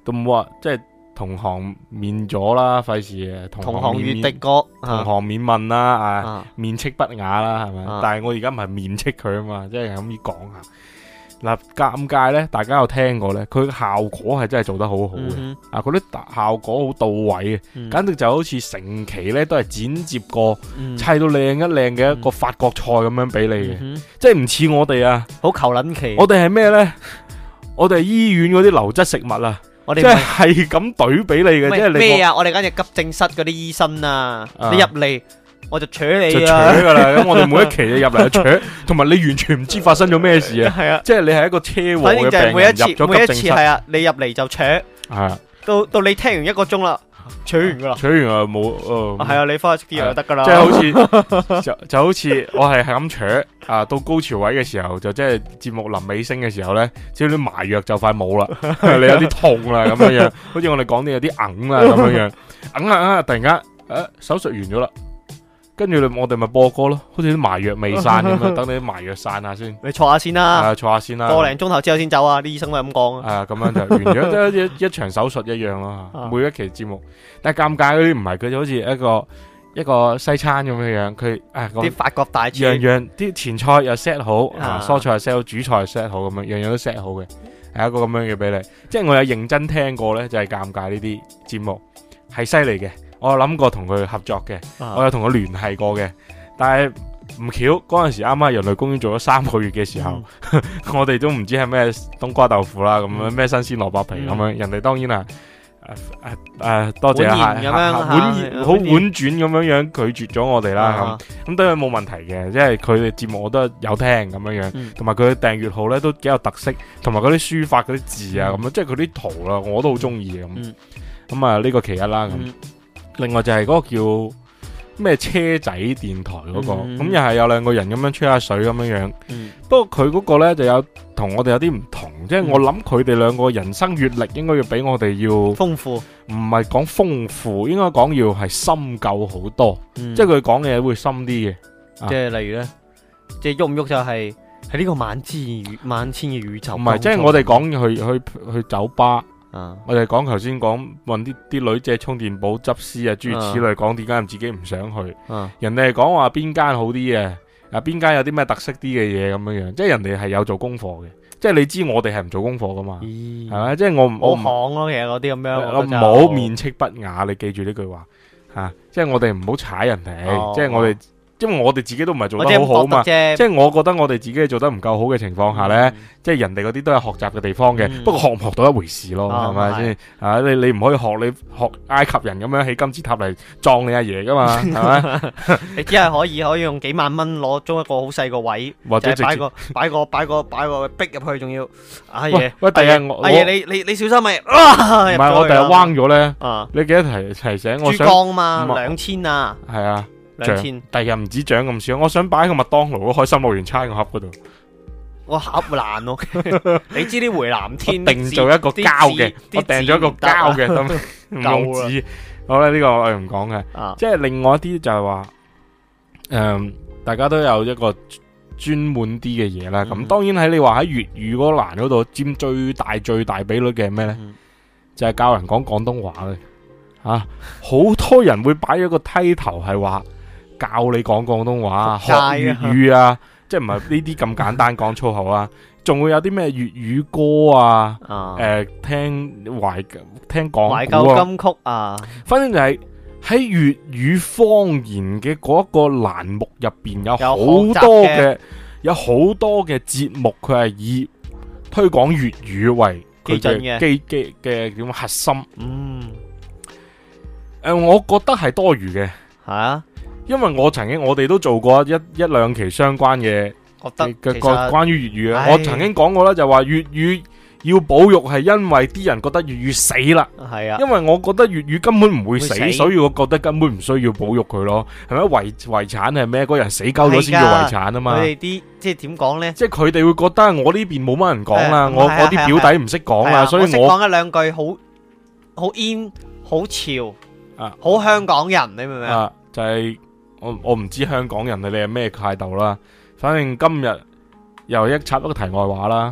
都冇話即係同行免咗啦，費事誒同同行免免行越敵國， 同行免問啦，啊啊面斥不雅啦，係咪？ 啊但係我而家唔係面斥佢啊嘛，即係咁樣講下。嗱，尷尬咧，大家有聽過咧，佢效果係真係做得好好嘅， 嗯啊，嗰啲效果好到位嘅， 哼簡直就好似成期咧都係剪接過， 嗯砌到靚一靚嘅一個法國菜咁樣俾你嘅， 嗯哼即係唔似我哋啊， 好求撚期， 我哋係咩咧？我哋係醫院嗰啲流質食物啊，即係我哋唔係係咁懟俾你嘅，即係你咩啊？我哋簡直急症室嗰啲醫生啊， 啊你入嚟我就扯你就啊， 扯噶啦，咁我哋每一期你入嚟就扯，同埋你完全唔知發生咗咩事啊， 係啊， 即係你係一個車禍反正就係嘅病每一次人入咗每一急症室， 次係啊，你入嚟就扯， 係啊， 到到你聽完一個鐘啦，扯完噶啦， 扯完啊冇，誒係啊，你翻去食啲藥就得噶啦， 即係好似就就好似我係係咁扯啊，到高潮位嘅時候就即係節目臨尾聲嘅時候咧，只要啲麻藥就快冇啦，你有啲痛啦咁樣樣，好似我哋講啲有啲硬啦咁樣樣，硬啊硬啊，突然間誒手術完咗啦，跟住我哋咪播歌咯，好似啲麻藥未散咁樣，等你啲麻藥散下先， 你坐下先啦， 啊坐下先啦， 個零鐘頭之後先走啊，啲醫生都係咁講啊， 啊咁樣就完咗，即係好似一一場手術一樣咯。 啊每一期節目，但係尷尬嗰啲唔係，佢就好似一個一個西餐咁樣樣，佢啊個啲法國大樣廚， 樣啲前菜又 set 好，啊啊蔬菜又 set 好，主菜又 set 好咁樣，樣樣都 set 好嘅，係一個咁樣嘅俾你。即係我有認真聽過咧，就係尷尬呢啲節目係犀利嘅，我有諗過同佢合作嘅， 啊我有同佢聯繫過嘅，但係唔巧嗰陣時啱啱人類公園做咗三個月嘅時候， 嗯我哋都唔知係咩冬瓜豆腐啦，咁樣嗯咩新鮮蘿蔔皮咁樣， 嗯人哋當然係誒誒誒多謝啊， 婉言咁樣婉嚇言好婉婉言轉咁樣樣拒絕咗我哋啦， 啊咁咁當然冇問題嘅，即係佢哋節目我都有聽咁樣樣， 嗯同埋佢嘅訂閱號咧都幾有特色，同埋嗰啲書法嗰啲字啊嗯咁樣，即係佢啲圖啦，我都好中意嘅咁， 嗯咁啊呢個其一啦咁。 嗯另外就係嗰個叫咩車仔電台嗰、個， 嗯咁又係有兩個人咁樣吹下水咁樣樣。 嗯不過佢嗰個呢就有同我哋有啲唔同，即係嗯我諗佢哋兩個人生閱歷應該要比我哋要唔豐富， 係講豐富，應該講要係深究好多， 嗯即係佢講嘅嘢會深啲嘅。 即係例如咧，即係喐唔喐就係喺呢個萬千宇萬千嘅宇宙當中， 唔係，即係我哋講去去去酒吧。 啊， 我哋講頭先講問啲啲女借充電寶執屍啊，諸如此類，講點解自己唔想去。 啊人哋係講話邊間好啲嘅，啊邊間有啲咩特色啲嘅嘢咁樣樣，即係人哋係有做功課嘅，即係你知我哋係唔做功課噶嘛， 咦係咪？即係我唔我唔好行咯，其實嗰啲咁樣， 我唔覺得就好面斥不雅，你記住呢句話吓、啊，即係我哋唔好踩人哋， 哦即係我哋，因為我哋自己都唔係做我即係得好好嘛， 咁覺得啫， 即係我覺得我哋自己做得唔夠好嘅情況下呢。 嗯即係人哋嗰啲都有學習嘅地方嘅， 嗯不過學唔學到一回事咯， 啊係咪先？啊，你你唔可以學你學埃及人咁樣起金字塔嚟撞你阿爺噶嘛，係咪？ 你只係可以可以用幾萬蚊攞租一個好細個位， 或者直接就係擺個擺個擺個擺個逼入去，仲要阿喂爺， 喂，第日阿爺我阿爺你你你小心咪，啊唔係我第日彎咗咧， 啊你記得提提醒我珠想江嘛唔係兩千啊係啊， 兩千， 第日唔止獎咁少，我想擺喺個麥當勞嗰開心樂園餐個盒嗰度， 我盒爛咯，你知啲回南我天定做一個膠嘅，我訂咗一個膠嘅，咁唔用夠啦紙。好啦，呢個我哋唔講嘅。 啊即係另外一啲就係話，誒、大家都有一個專門啲嘅嘢啦。咁、 嗯當然喺你話喺粵語嗰欄嗰度佔最大最大比率嘅係咩呢？ 嗯就係教人講廣東話嘅。啊，好多人會擺咗個梯頭係話教你講廣東話，學仆街啊粵語啊，即係唔係呢啲咁簡單講粗口啊？仲會有啲咩粵語歌啊？ 啊誒、聽懷聽講懷古啊舊金曲啊， 反正就係喺粵語方言嘅嗰一個欄目入邊，有好多嘅有好多嘅節目，佢係以推廣粵語為佢基準嘅嘅基基嘅點核心。 嗯， 誒、我覺得係多餘嘅， 係啊， 因為我曾經我哋都做過一一兩期相關嘅覺得嘅其個實關於粵語嘅。 唉我曾經講過啦，就話粵語要保育係因為啲人覺得粵語死啦。 係啊， 因為我覺得粵語根本唔會死， 會死所以我覺得根本唔需要保育佢咯。係咪遺遺產係咩？嗰人死鳩咗先叫遺產啊嘛佢。哋啲即係點講咧？ 即係佢哋會覺得我呢邊冇乜人講啦， 係我係啊係啊我啲表弟唔識講啦， 係啊所以我識講一兩句好好 in 好潮啊好香港人，你明唔明啊？ 啊就係我我唔知香港人你係咩態度啦。反正今日又一插一個題外話啦。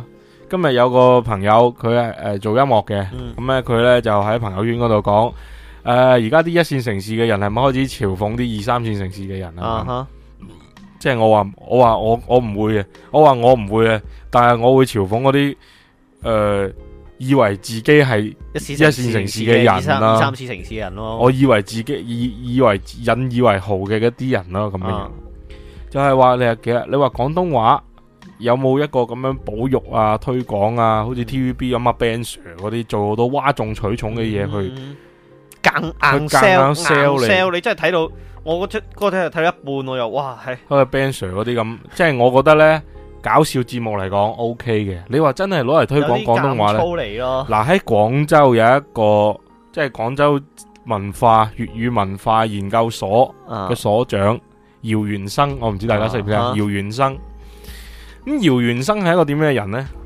今日有個朋友佢係誒做音樂嘅， 嗯咁咧佢咧就喺朋友圈嗰度講，誒而家啲一線城市嘅人係咪開始嘲諷啲二三線城市嘅人啊？ 啊哈， 即係我話我話我我唔會嘅，我話我唔會嘅，但係我會嘲諷嗰啲誒以為自己係一線一線城市嘅人啦二三二三線城市嘅人咯。 我以為自己以以為引以為豪嘅嗰啲人咯，咁樣樣。 啊就係話你係其實你話廣東話有冇一個咁樣保育啊、推廣啊，好似 T V B 咁啊 Ben Sir 嗰啲做好多嘩眾取寵嘅嘢去嗯硬硬去夾 sell 硬 sell 你 sell，你真係睇到我嗰出嗰個睇睇到一半，我又哇係好似 Ben Sir 嗰啲咁，即係我覺得呢，搞笑節目嚟講 O K 嘅。你話真係攞嚟推廣廣東話呢？ 粗嚟咯。 嗱喺廣州有一個即係廣州文化粵語文化研究所啊嘅所長姚元生，我唔知大家識唔識啊？ 啊姚元生，咁姚元生係一個點樣嘅人呢？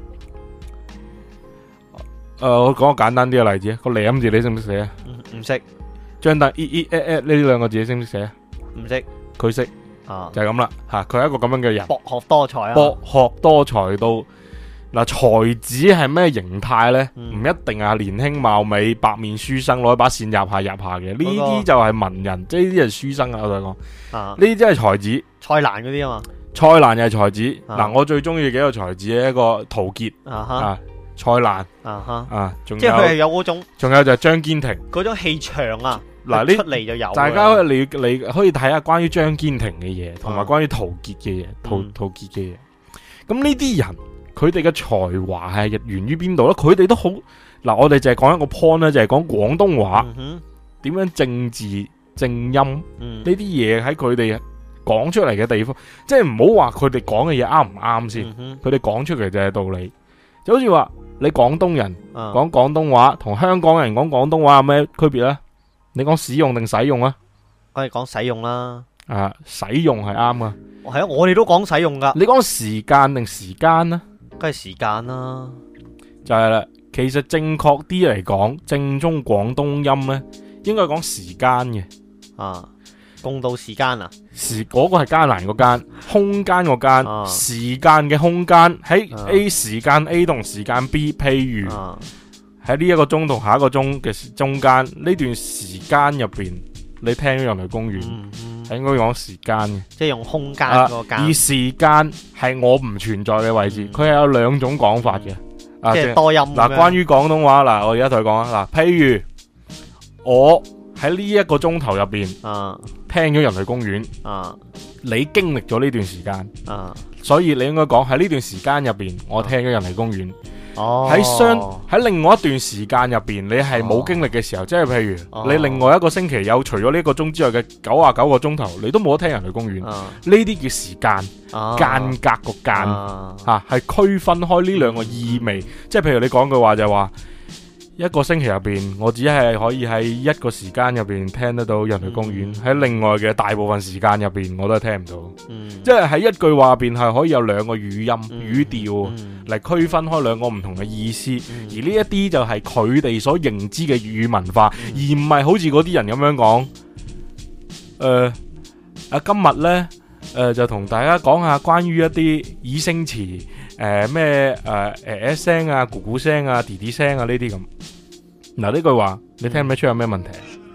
誒、我講個簡單啲嘅例子，個舐字你識唔識寫啊？ 唔唔識張凳 e e at at 呢兩個字你識唔識寫啊？ 唔識佢識啊， 就係咁啦吓，佢係一個咁樣嘅人， 博學多才啊。 博學多才到嗱，才子係咩形態呢？唔、 嗯一定係年輕貌美、白面書生攞一把扇入下入下嘅，呢啲就係文人，即係呢啲係書生啊！我同你講， 啊， 呢啲真係才子。 蔡瀾嗰啲啊嘛。 蔡瀾又係才子，嗱、 啊我最中意幾個才子嘅一個陶傑啊哈啊，蔡瀾啊哈， 啊，仲即係佢係有有嗰種仲有就係張堅庭。 嗰種氣場啊。 嗱一出呢嚟就有啊。 大家你你可以睇下關於張堅庭嘅嘢，同埋啊關於陶傑嘅嘢，陶嗯陶傑嘅嘢。咁呢啲人佢哋嘅才華係源於邊度咧？佢哋都好嗱，我哋就係講一個 point 咧，就係講廣東話嗯哼點樣正字正音。 嗯呢啲嘢喺佢哋講出嚟嘅地方，即係唔好話佢哋講嘅嘢啱唔啱先， 嗯哼佢哋講出嚟就係道理。就好似話你廣東人啊講廣東話，同香港人講廣東話有咩區別呢？你講使用定使用啊？ 我哋講使用啦。 啊，使用係啱啊。 係啊，我哋都講使用噶， 你講時間定時間呢？ 梗係時間啦。 就係啦。其實正確啲嚟講，正宗廣東音呢，應該講時間嘅。 啊，共度時間啊。 時嗰、個係艱難個間，空間個間， 啊時間嘅空間喺啊 A 時間 A 同時間 B，譬如啊喺呢一個鐘同下一個鐘嘅中間呢段時間入邊，你聽咗人類公園， 嗯嗯係應該講時間嘅。 即係用空間啊嗰個間而，時間係我唔存在嘅位置， 嗯佢係有兩種講法嘅。啊，即係即係多音嗱，關於廣東話嗱，我而家同佢講啊，嗱，譬如我喺呢一個鐘頭入邊啊聽咗人類公園， 啊你經歷咗呢段時間。 啊所以你應該講喺呢段時間入邊，我聽咗人類公園。 哦喺相喺另外一段時間入邊，你係冇經歷嘅時候，即係譬如哦你另外一個星期有除咗呢一個鐘之外嘅九啊九個鐘頭，你都冇得聽人類公園。呢啊啲叫時間啊間隔個間啊吓，係區分開呢兩個意味。即係譬如你講句話就係話，一個星期入邊，我只係可以喺一個時間入邊聽得到人類公園，喺另外嘅大部分時間入邊，我都係聽唔到。 嗯即係喺一句話入邊係可以有兩個語音、 嗯語調嗯嚟區分開兩個唔同嘅意思， 嗯而呢一啲就係佢哋所認知嘅粵語文化， 嗯而唔係好似嗰啲人咁樣講。誒、呃、啊，今日呢，誒、呃、就同大家講下關於一啲擬聲詞，誒咩誒誒 S 聲啊、咕咕聲啊、弟弟聲啊呢啲咁。嗱呢句話你聽唔聽得出有咩問題？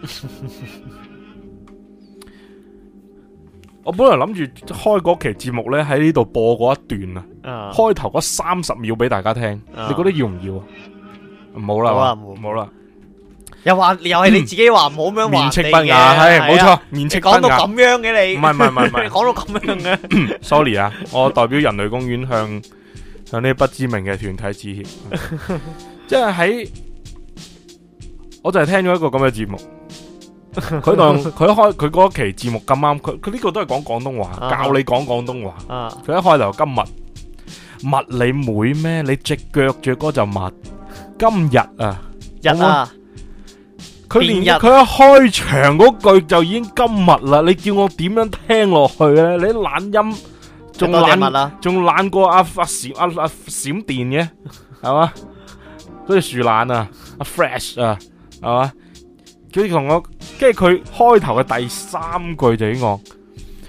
我本來諗住開嗰期節目呢，喺呢度播嗰一段啊， 啊開頭嗰三十秒俾大家聽， 啊你覺得要唔要啊？唔好啦， 好啦係嘛唔好唔好啦， 又話又係你自己話唔好咁樣面斥話不雅，係冇錯，面你斥不雅。 講到咁樣嘅你， 唔係唔係唔係唔係你講到咁樣嘅， sorry 啊，我代表人類公園向向呢啲不知名嘅團體致歉。即係喺，我就係聽咗一個咁嘅節目。佢當佢開佢嗰期節目咁啱，佢佢呢個都係講廣東話， 啊教你講廣東話。 啊佢一開頭今日密你妹咩？你隻腳着嗰就密。今日啊， 日啊， 佢連變日佢一開場嗰句就已經今日啦。你叫我點樣聽落去咧？你啲懶音仲多謝懶物啦， 仲懶過阿阿閃阿阿閃電嘅，係嘛？嗰隻樹懶啊，阿 Fresh 啊，係嘛？佢同我，跟住佢開頭嘅第三句就已經講，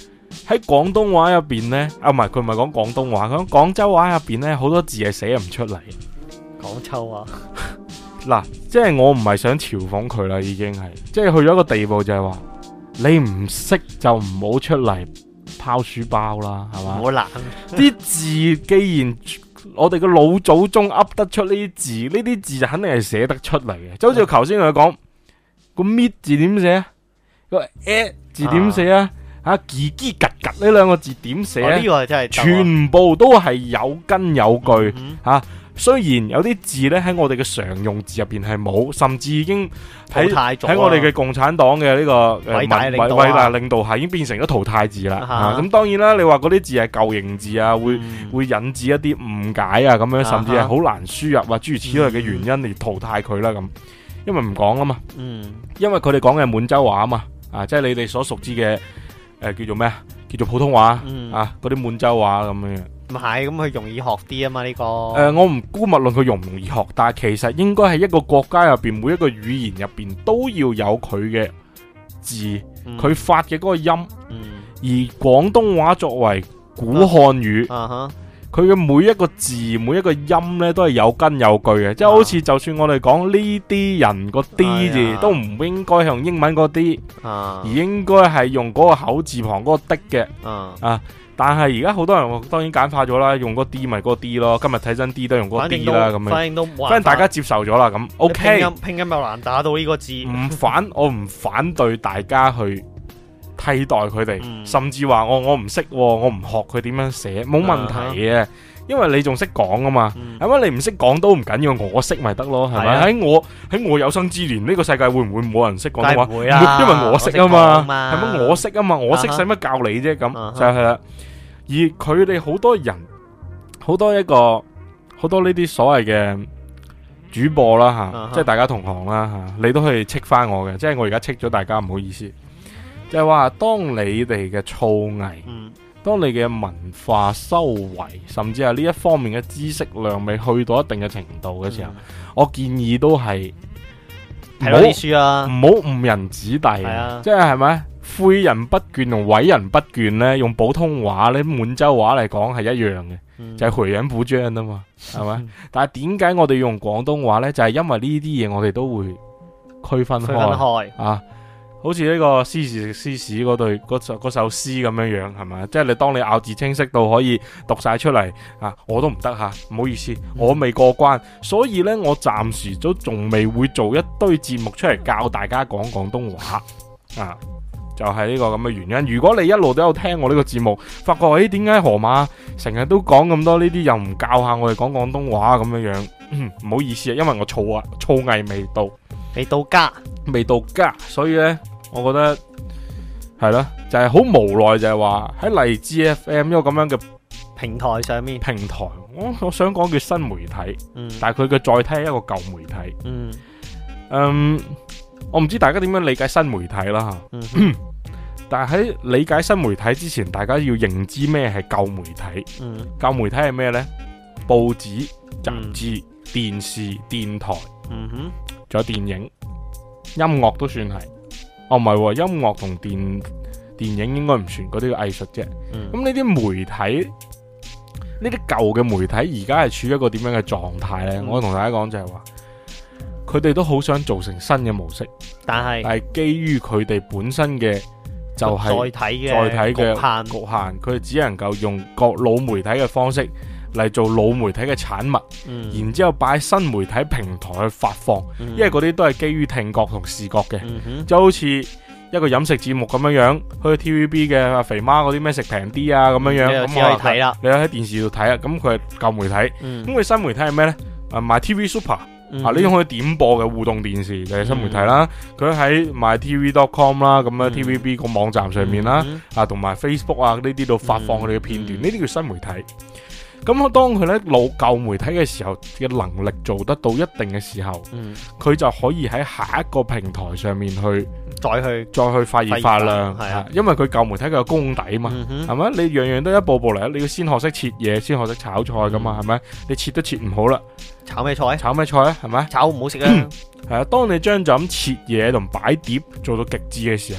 喺廣東話入邊呢，啊唔係佢唔係講廣東話，佢講廣州話入邊呢，好多字係寫唔出嚟。 廣州話嗱，即係我唔係想嘲諷佢啦，已經係，即係去咗一個地步就係話，你唔識就唔好出嚟拋書包啦，係嘛？ 好難。 啲字既然我哋嘅老祖宗噏得出呢啲字，呢啲字就肯定係寫得出嚟嘅。就好似我頭先同佢講個搣字點寫，個 a 字點寫啊？吓，嘰嘰格格呢兩個字點寫啊？ 呢個真係全部都係有根有據嗯吓。雖然有啲字咧喺我哋嘅常用字入邊係冇，甚至已經喺淘汰咗啊喺我哋嘅共產黨嘅呢個誒偉大偉領導啊偉大領導下，已經變成咗淘汰字啦。 啊哈啊咁當然啦，你話嗰啲字係舊型字啊，會嗯會引致一啲誤解啊，咁樣甚至係啊哈好難輸入啊，諸如此類嘅原因嚟淘汰佢啦咁。因為唔講啊嘛， 嗯因為佢哋講嘅係滿洲話啊嘛，啊即係你哋所熟知嘅誒叫做咩啊？叫做普通話嗯啊，嗰啲滿洲話咁樣。 唔係咁佢容易學啲啊嘛呢個。 誒、呃，我唔姑勿論佢容唔容易學，但係其實應該係一個國家入邊每一個語言入邊都要有佢嘅字，佢、 嗯發嘅嗰個音。 嗯而廣東話作為古漢語， 啊哈佢嘅每一個字每一個音呢都係有根有據嘅，即係好似就算我哋講呢啲人個 D 字， 哎呀都唔應該用英文個 D， 啊而應該係用嗰個口字旁嗰個的嘅。 啊， 啊！但係而家好多人當然簡化咗啦，用嗰個 D 咪嗰個 D 咯。今日睇真 D 都用嗰個反 D 正都啦，咁樣。 反正都冇辦法反正大家接受咗啦，咁拼 OK。 音拼音又難打到呢個字。 唔反，我唔反對大家去替代佢哋， 嗯甚至話我我唔識，我唔學佢點樣寫，冇問題嘅。因為你仲識講啊嘛， 嗯係咪？你唔識講都唔緊要，我識咪得咯，係咪？ 係啊喺我喺我有生之年，呢個世界會唔會冇人識廣東話？ 梗係唔會啦因為我識啊我識講嘛， 嘛係咪？我識啊嘛，我識啊哈使乜教你啫？咁啊哈就係啦。而佢哋好多人，好多一個好多呢啲所謂嘅主播啦吓， 啊哈即係大家同行啦吓，你都可以斥翻我嘅，即係我而家斥咗大家，唔好意思。就係話，當你哋嘅造詣， 嗯當你嘅文化修為，甚至係呢一方面嘅知識量未去到一定嘅程度嘅時候，我建議都係睇多啲書啦。 唔好誤人子弟， 係啊即係係咪？誨人不倦同毀人不倦呢，用普通話呢，滿洲話嚟講係一樣嘅， 嗯就係回人補章啊嘛，係咪？但係點解我哋用廣東話呢？就係因為呢啲嘢我哋都會區分區分開開。 啊。好似呢個詩時食詩史嗰對嗰首嗰首詩咁樣樣係咪？即係你當你咬字清晰到可以讀晒出嚟啊，我都唔得吓，唔好意思，我未過關，所以呢，我暫時都仲未會做一堆節目出嚟教大家講廣東話啊，就係呢個咁嘅原因。如果你一路都有聽我呢個節目，發覺誒點解河馬成日都講咁多呢啲，又唔教下我哋講廣東話咁樣樣，唔好意思啊，因為我造啊造詣未到。 未到家。 未到家，所以呢，我覺得係咯，就係、是、好無奈，就係話喺荔枝 F M 一個咁樣嘅平台上面。 平台，我我想講叫新媒體， 嗯但係佢嘅載體係一個舊媒體。 嗯嗯，我唔知大家點樣理解新媒體啦吓， 嗯哼但係喺理解新媒體之前，大家要認知咩係舊媒體。 嗯舊媒體係咩呢？報紙、雜誌、電視、電台， 嗯哼仲有電影。音樂都算係，哦唔係喎，音樂同電電影應該唔算，嗰啲藝術啫。 嗯咁呢啲媒體，呢啲舊嘅媒體，而家係處於一個點樣嘅狀態呢？ 嗯我同大家講就係話，佢哋都好想做成新嘅模式， 但係但係基於佢哋本身嘅就係載體嘅載體嘅局限局限，佢哋只能夠用各老媒體嘅方式嚟做老媒體嘅產物， 嗯然之後擺喺新媒體平台去發放。 嗯因為嗰啲都係基於聽覺同視覺嘅， 嗯哼就好似一個飲食節目咁樣樣，去 T V B 嘅阿肥媽嗰啲咩食平啲啊咁樣樣，咁你就只可以睇啦。 你喺電視度睇啊，咁佢係舊媒體， 嗯咁佢新媒體係咩呢？啊賣 T V Super 嗯啊呢種可以點播嘅互動電視就係新媒體啦，佢喺賣 T V dot com 啦，咁啊嗯 T V B 個網站上面啦， 嗯啊同埋 Facebook 啊呢啲度發放佢哋嘅片段， 嗯呢啲叫新媒體。咁當佢咧老舊媒體嘅時候嘅能力做得到一定嘅時候， 嗯佢就可以喺下一個平台上面去再去再去發熱發亮， 發熱係啊因為佢舊媒體佢有功底嘛， 嗯係咪、你樣樣都一步步嚟，你要先學識切嘢，先學識炒菜噶嘛，係咪、你切都切唔好啦， 炒咩菜？ 炒咩菜啊？係咪？ 炒唔好食啊！ 係啊，當你將就咁切嘢同擺碟做到極致嘅時候，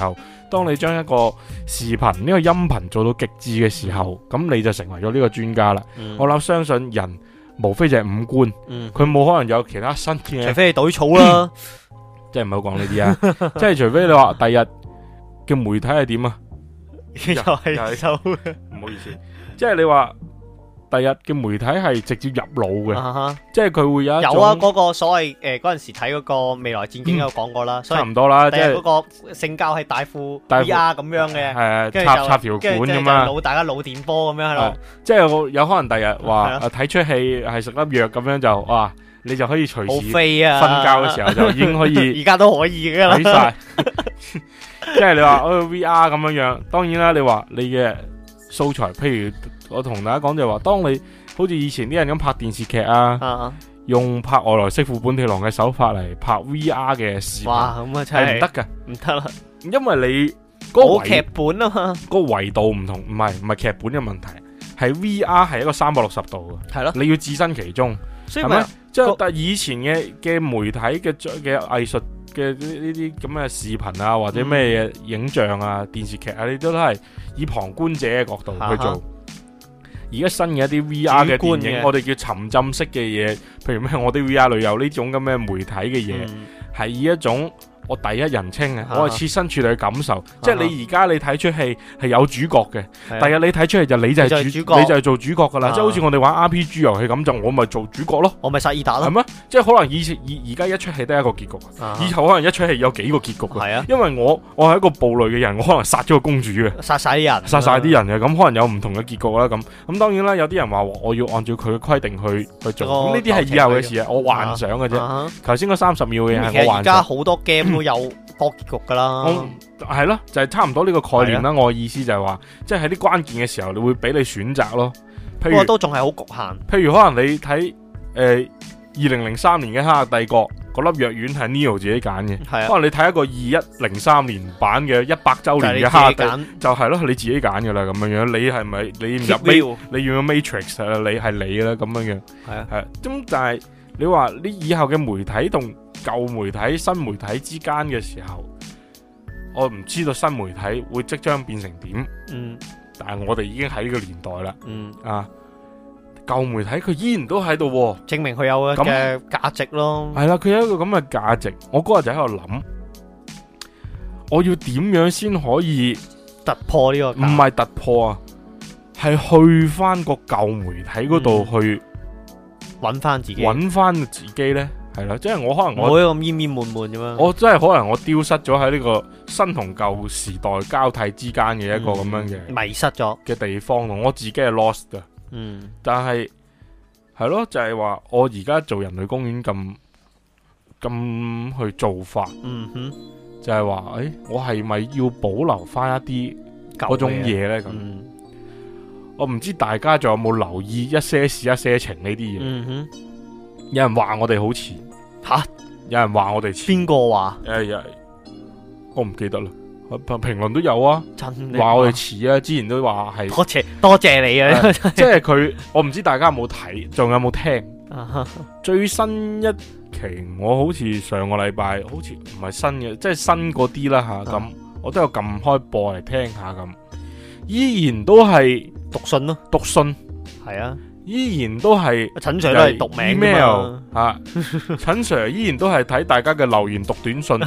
當你將一個視頻呢、呢個音頻做到極致嘅時候，咁你就成為咗呢個專家啦。 嗯、 我諗相信人無非就係五官， 嗯， 佢冇可能有其他新嘅， 除非係懟草啦， 即係唔好講呢啲啊，即係除非你話第日嘅媒體係點啊， 又係收， 唔好意思，即係你話。第日嘅媒體係直接入腦嘅， 啊、哈即係佢會有一種有啊，嗰、那個所謂誒嗰陣時睇嗰個未來戰警有講過啦， 嗯、差唔多啦， 即係嗰個性交係大副 V R 咁樣嘅， 係插插條管咁嘛， 腦大家腦電波咁樣喺度， 即係有可能第日話睇出戲係食粒藥咁樣就哇，你就可以隨時瞓覺嘅時候就已經可以， 而家都可以嘅啦， 睇晒，即係你話哦 V R 咁樣樣，當然啦，你話你嘅素材，譬如。我同大家講就係話，當你好似以前啲人咁拍電視劇啊，啊用拍外來媳婦本地郎嘅手法嚟拍 V R 嘅視頻， 哇，咁啊真係唔得噶， 唔得啦， 因為你嗰個劇本啊嘛， 嗰個維度唔同，唔係唔係劇本嘅問題，係 V R 係一個三百六十度嘅，係咯，你要置身其中，係咪？即係但係以前嘅嘅媒體嘅嘅藝術嘅呢啲咁嘅視頻啊，或者咩嘢影像啊、電視劇啊，你都都係以旁觀者嘅角度去做。啊而家新嘅一啲 V R 嘅電影，我哋叫沉浸式嘅嘢，譬如咩我啲 V R 裏有呢種咁嘅媒體嘅嘢，係、嗯、以一種我第一人稱嘅，我係設身處地去感受，啊、即係你而家你睇出戲係有主角嘅，第日你睇出戲就你就係主，你就係主角，你就係做主角噶啦，啊、即係好似我哋玩 R P G 遊戲咁，就我咪做主角咯，我咪薩爾達咯，係咩？即係可能以前而而家一出戲得一個結局，啊、以後可能一出戲有幾個結局嘅，係啊，因為我我係一個暴戾嘅人，我可能殺咗個公主嘅，殺晒啲人，殺晒啲人嘅，咁可能有唔同嘅結局啦，咁咁當然啦，有啲人話我要按照佢嘅規定去去做，咁呢啲係以後嘅事啊，我幻想嘅啫。頭先嗰三十秒嘅嘢係我幻想。而家好多 game 都有多結局噶啦，係咯，就係、是、差唔多呢個概念啦。我嘅意思就係話，即係喺啲關鍵嘅時候，你會俾你選擇咯。不過都仲係好局限。譬如可能你睇誒二零零三年嘅《黑客帝國》嗰粒藥丸係 Neo 自己揀嘅，可能你睇一個二一零三年版嘅一百周年嘅《黑客帝國》，就係咯，你自己揀噶啦咁樣樣。你係咪你入你要 Matrix 啊？你係你啦咁樣樣。係啊，係。咁但係你話你以後嘅媒體同舊媒體、新媒體之間嘅時候，我唔知道新媒體會即將變成點。嗯，但係我哋已經喺呢個年代啦。嗯啊，舊媒體佢依然都喺度，證明佢有嘅價值咯。係啦，佢有一個咁嘅價值。我嗰日就喺度諗，我要點樣先可以突破呢個？唔係突破啊，係去翻個舊媒體嗰度去揾翻自己，揾翻自己呢。係啦，即係我可能我冇咁煙煙悶悶咁樣，我真係可能我丟失咗喺呢個新同舊時代交替之間嘅一個咁樣嘅、嗯、迷失咗嘅地方，我自己係 lost 噶。嗯，但係係咯，就係、是、話我而家做人類公園咁咁去做法，嗯哼，就係話誒，我係咪要保留翻一啲嗰種嘢咧？咁、嗯，我唔知大家仲有冇留意一些事一些情呢啲嘢？嗯哼。有人話我哋好似吓，有人話我哋似邊個話？誒，我唔記得啦。評論都有啊，話我哋似啊。之前都話係多謝多謝你啊。即係佢，我唔知大家有冇睇，仲有冇聽？最新一期我好似上個禮拜，好似唔係新嘅，即係新嗰啲啦吓。咁我都有撳開播嚟聽下咁，依然都係讀信咯，讀信係啊。依然都係陳 Sir 都係讀名 email 啊，陳 Sir 依然都係睇大家嘅留言讀短信，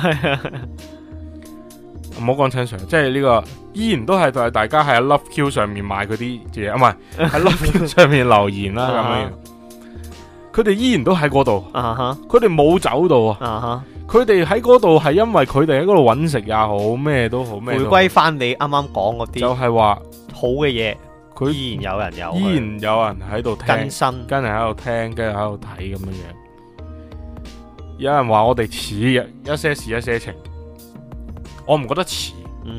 唔好講陳 Sir，即係呢個依然都係大家喺 Love Q 上面買嗰啲嘢，啊唔係喺 Love Q 上面留言啦咁樣，佢哋依然都喺嗰度，佢哋冇走到啊，佢哋喺嗰度係因為佢哋喺嗰度揾食也好，咩都好，咩回歸翻你啱啱講嗰啲，就係話好嘅嘢。佢依然有人有，依然有人喺度聽，更新，跟住喺度聽，跟住喺度睇咁樣樣。有人話我哋似一些事一些情，我唔覺得似，嗯，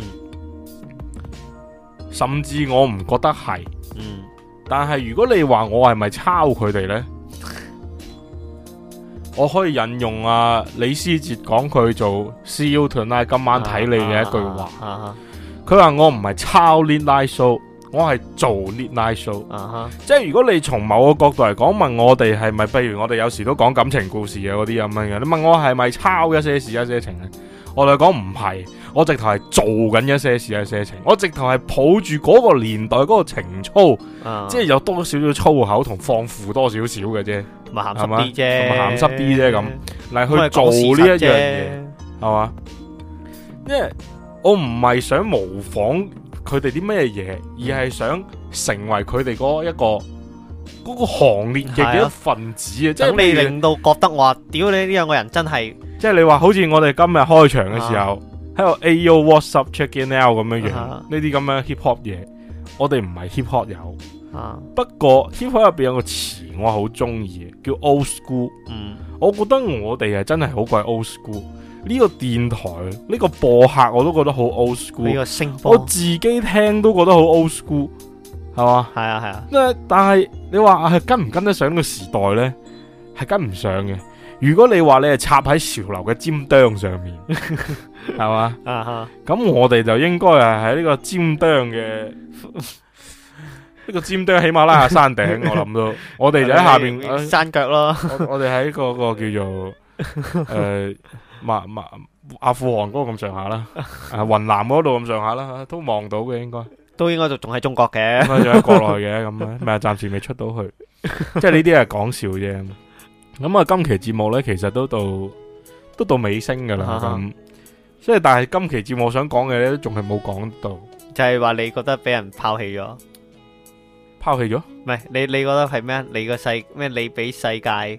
甚至我唔覺得係，嗯。但係如果你話我係咪抄佢哋呢？我可以引用啊李思捷講佢做 See You Tonight 今晚睇你嘅一句話，佢話我唔係抄 Midnight Show。我係做 Midnight Show，、uh-huh. 即係如果你從某個角度嚟講，問我哋係咪，譬如我哋有時都講感情故事嘅嗰啲咁樣嘅，你問我係咪抄一些事一些情咧？ 我哋講唔係，我直頭係做緊一些事一些情，我直頭係抱住嗰個年代嗰個情操， 啊即係有多少少粗口同放負多少少嘅啫， 同埋鹹濕啲啫， 同埋鹹濕啲啫咁嚟去做呢一樣嘢，係嘛？因為我唔係想模仿佢哋啲咩嘢，而係想成為佢哋嗰一個。嗰個行列嘅一份子啊！即係你令到覺得話，屌你呢兩個人真係， 即係你話好似我哋今日開場嘅時候喺度 A Yo What's Up Check In Now 咁樣樣，呢啲咁樣 hip hop 嘢，我哋唔係 hip hop 友。 啊， 不過 hip hop 入邊有個詞我好中意嘅，叫 old school。 嗯， 我覺得我哋係真係好鬼 old school。呢個電台呢個播客我都覺得好 old school。 呢個聲波， 我自己聽都覺得好 old school。係嘛？ 係啊係啊。 但係你話係跟唔跟得上呢個時代呢？係跟唔上嘅。如果你話你係插喺潮流嘅尖端上面，係嘛？ 啊哈。咁我哋就應該係喺呢個尖端嘅呢個尖端喜馬拉雅山頂，我諗到，我哋就喺下邊山腳咯。 我我哋喺嗰個叫做誒馬馬阿富汗嗰個咁上下啦，啊雲南嗰度咁上下啦，都望到嘅應該。 都應該就仲喺中國嘅， 應該仲喺國內嘅咁啊，咪暫時未出到去，即係呢啲係講笑啫。咁啊，今期節目咧，其實都到都到尾聲噶啦，咁即係但係今期節目我想講嘅咧，仲係冇講到， 就係話你覺得俾人拋棄咗， 拋棄咗？ 唔係你你覺得係咩？你個世咩？你俾世界誒，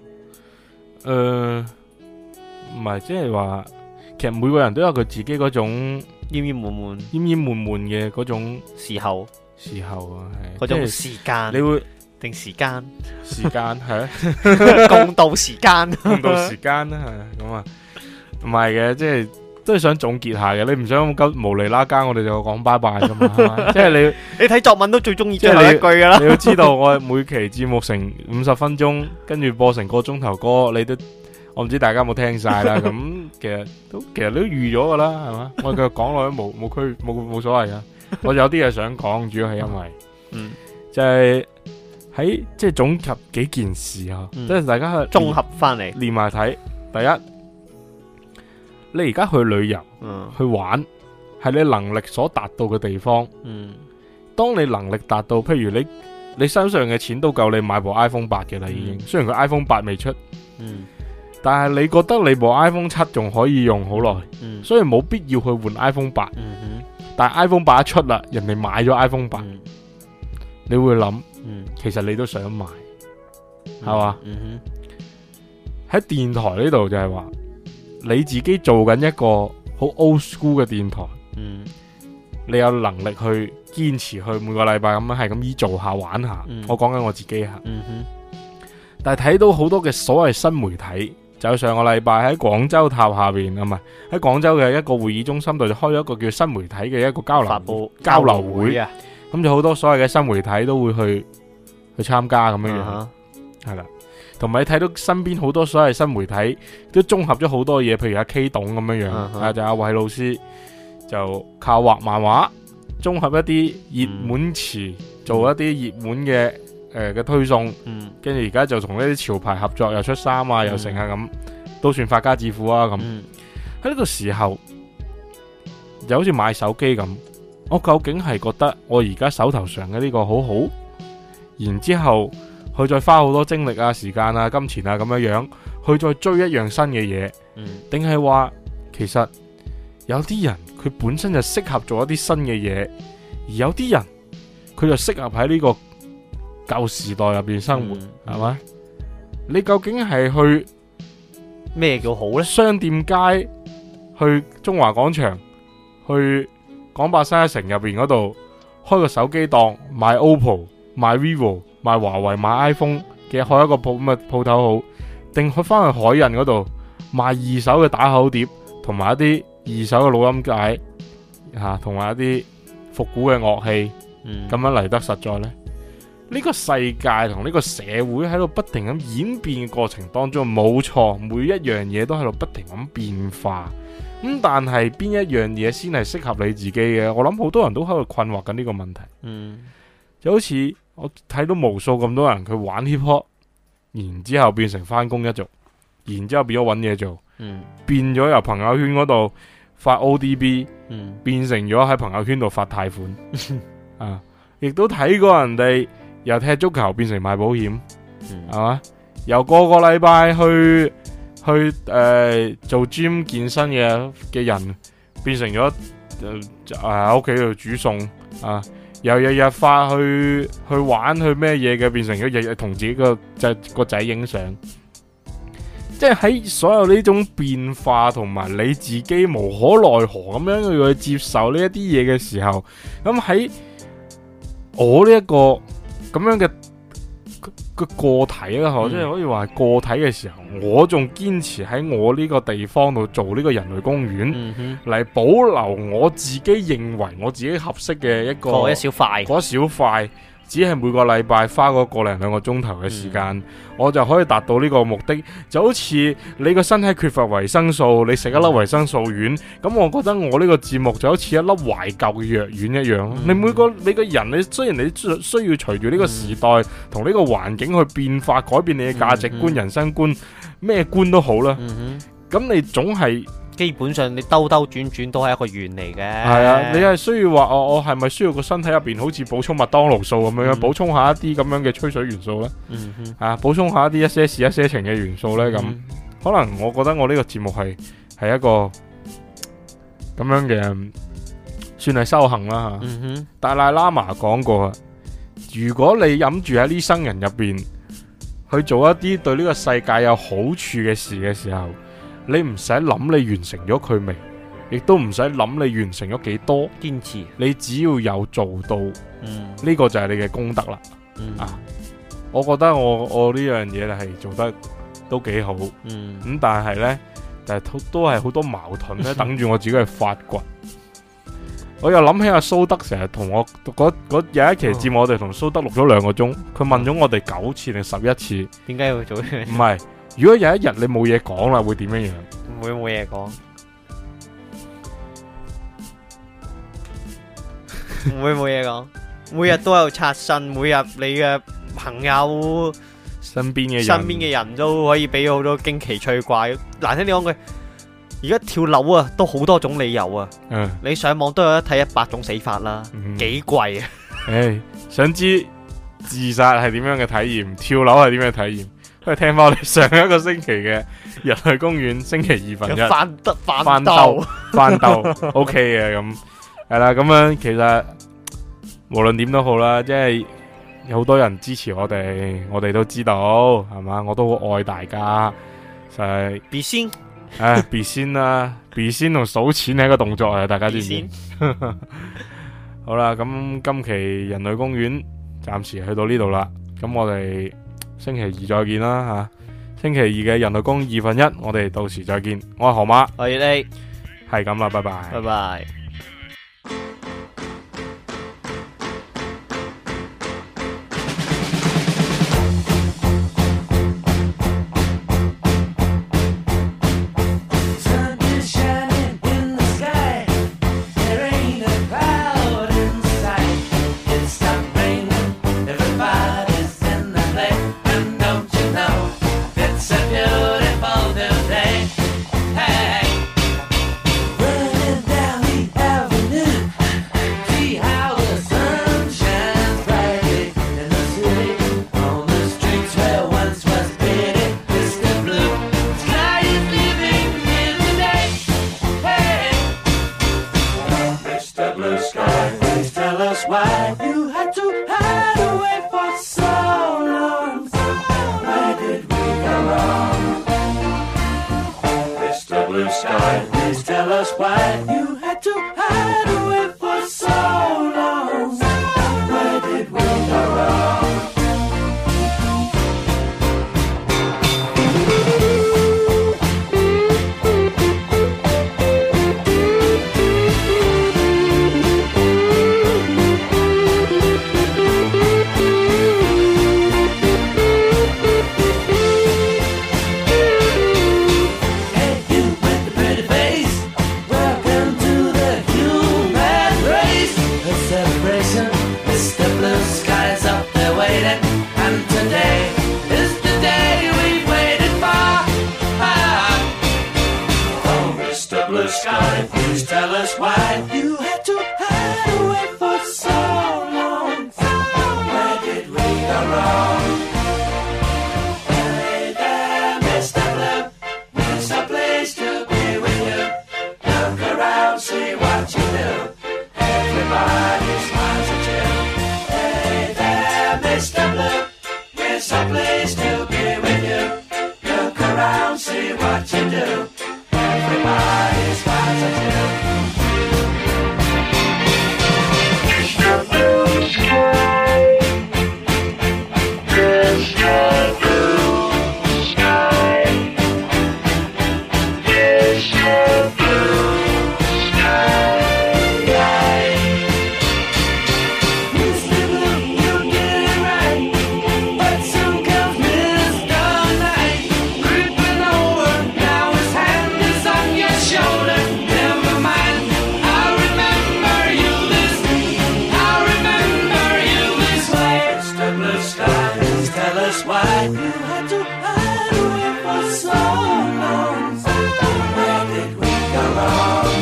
唔係即係話，其實每個人都有佢自己嗰種。 煙煙悶悶、 煙煙悶悶嘅嗰種時候， 時候啊，係嗰種時間， 你會定時間， 時間係啊， 共度時間， 共度時間啦，係咁啊，唔係嘅，即係都係想總結下嘅，你唔想咁無厘啦更，我哋就講拜拜噶嘛，即係你你睇作文都最中意最後一句噶啦， 你要知道我每期節目成五十分鐘，跟住播成個鐘頭歌，你都。我唔知大家有冇聽晒啦，咁其實都其實都預咗噶啦，係嘛？我繼續講落去冇冇區冇冇所謂噶。我有啲嘢想講，主要係因為，嗯，就係喺即係總結幾件事啊，即係大家去綜合翻嚟連埋睇。第一，你而家去旅遊， 嗯， 去玩，係你能力所達到嘅地方。 嗯， 當你能力達到，譬如你你身上嘅錢都夠你買部 iPhone 八嘅啦，已經。雖然佢 iPhone 八未出，嗯。但係你覺得你部 iPhone 七仲可以用好耐，嗯、所以冇必要去換 iPhone 八。嗯、但係 iPhone 八一出啦，人哋買咗 iPhone 八，嗯、你會諗，嗯、其實你都想買，係嘛？喺電台呢度就係話，你自己做緊一個好 old school 嘅電台，嗯、你有能力去堅持去每個禮拜咁樣係咁依做下玩下。嗯、我講緊我自己吓，嗯、但係睇到好多嘅所謂新媒體。就上個禮拜喺廣州塔下邊，啊唔係喺廣州嘅一個會議中心度就開咗一個叫新媒體嘅一個交流發佈交流會啊， 咁就好多所謂嘅新媒體都會去去參加咁樣樣，係啦，同埋你睇到身邊好多所謂新媒體都綜合咗好多嘢，譬如阿 K 董咁樣樣，啊、uh huh. 就阿偉老師就靠畫漫畫，綜合一啲熱門詞，嗯、做一啲熱門嘅。誒嘅、呃、推送，跟住而家就同呢啲潮牌合作，又出衫啊，嗯、又成啊咁，都算發家致富啊咁。喺呢、嗯、個時候，就好似買手機咁，我究竟係覺得我而家手頭上嘅呢個好好，然之後去再花好多精力啊、時間啊、金錢啊咁樣樣，去再追一樣新嘅嘢，定係話其實有啲人佢本身就適合做一啲新嘅嘢，而有啲人佢就適合喺呢、這個。舊時代入邊生活係嘛、嗯？你究竟係去咩叫好呢？ 商店街，去中華廣場，去廣百新一城入邊嗰度開個手機檔，賣 O P P O、賣 vivo、賣華為、賣 iPhone 嘅開一個鋪咁嘅鋪頭好，定去翻去海印嗰度賣二手嘅打口碟，同埋一啲二手嘅錄音帶吓，同、啊、埋一啲復古嘅樂器，咁、嗯、樣嚟得實在呢？呢個世界同呢個社會喺度不停咁演變嘅過程當中，冇錯，每一樣嘢都喺度不停咁變化。咁、嗯、但係邊一樣嘢先係適合你自己嘅？我諗好多人都喺度困惑緊呢個問題。嗯，就好似我睇到無數咁多人佢玩 hip hop，然之後變成翻工一族，然之後變咗搵嘢做，嗯，變咗由朋友圈嗰度發 O D B， 嗯， 變成咗喺朋友圈度發貸款啊！亦都睇過人哋由踢足球變成賣保險，係嘛、嗯？由個個禮拜去去誒、呃、做 gym 健身嘅嘅人，變成咗誒喺屋企度煮餸啊！由日日發去去玩去咩嘢嘅，變成咗日日同自己個仔個仔影相。即係喺所有呢種變化同埋你自己無可奈何咁樣去接受呢一啲嘢嘅時候，咁喺我呢、這、一個咁樣嘅個個體啦，即係、嗯、可以話係個體嘅時候，我仲堅持喺我呢個地方度做呢個人類公園，嚟、嗯、哼保留我自己認為我自己合適嘅一個嗰一小塊， 嗰小塊。只係每個禮拜花嗰個零兩個鐘頭嘅時間，嗯、我就可以達到呢個目的。就好似你個身體缺乏維生素，你食一粒維生素丸，咁、嗯、我覺得我呢個節目就好似一粒懷舊嘅藥丸一樣。嗯、你每個你個人，你雖然你需要隨住呢個時代同呢、嗯、個環境去變化，改變你嘅價值觀、嗯、人生觀，咩觀都好啦。咁、嗯、哼你總係。 基本上你兜兜轉轉都係一個圓嚟嘅。 係啊，你係需要話我我係咪需要個身體入邊好似補充麥當勞素咁樣，補、嗯、充下一啲咁樣嘅吹水元素呢？嗯、哼啊，補充下一啲一些事一些情嘅元素呢？咁、嗯、可能我覺得我呢個節目係係一個咁樣嘅，算係修行啦吓。嗯、哼達賴喇嘛講過，如果你諗住喺呢生人入邊去做一啲對呢個世界有好處嘅事嘅時候，你唔使諗你完成咗佢未，亦都唔使諗你完成咗幾多， 堅持， 你只要有做到，呢、嗯、個就係你嘅功德啦。嗯、啊，我覺得我我呢樣嘢係做得都幾好，咁、嗯嗯、但係呢，就係、是、都係好多矛盾咧，等住我自己去發掘。我又諗起阿蘇德成日同我嗰有一期節目，我哋同蘇德錄咗兩個鐘，佢問咗我哋九次定十一次， 點解要做呢？ 唔係。如果有一日你冇嘢講啦，會點樣樣？ 會冇嘢講，唔會冇嘢講。每日都有刷新，每日你嘅朋友、 身邊嘅人身邊嘅人都可以俾好多驚奇趣怪。難聽啲講句，而家跳樓啊，都好多種理由啊。嗯，你上網都有得睇一百種死法啦，幾貴啊！誒， 想知自殺係點樣嘅體驗？跳樓係點樣嘅體驗？都係聽翻我哋上一個星期嘅人類公園星期二分一翻得翻兜翻兜 OK 嘅，咁係啦，咁樣其實無論點都好啦，即係有好多人支持我哋，我哋都知道係嘛，我都好愛大家，就係別先， 誒別先啦，別先同數錢係一個動作啊，大家知唔知？好啦，咁今期人類公園暫時去到呢度啦，咁我哋星期二再見啦吓，星期二嘅人類公園二分一，我哋到時再見。我係河馬， 我係你， 係咁啦，拜拜， 拜拜。 Human us why you had to hide away for so long. Where did we go wrong? Hey there, Mister Blue, there's a place to be with you. Look around, see what you do. Everybody smiles at you. Hey there, Mister Blue, there's a place to be with you. Look around, see what you do. Everybody smiles at you. Mister Blue Sky, Mister Blue Sky, Mister Blue Sky. Mister Blue, you get it right, but soon comes Mister Night, creeping over. Now his hand is on your shoulder. Never mind, I remember you this, I remember you this way. Mister Blue Skies, tell us why you had to hide away for so long. Where did we go wrong?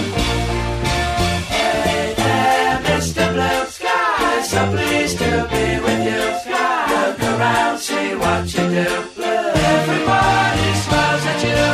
Hey there, Mister Blue Sky, so pleased to be with you. Look around, see what you do. Everybody smiles at you.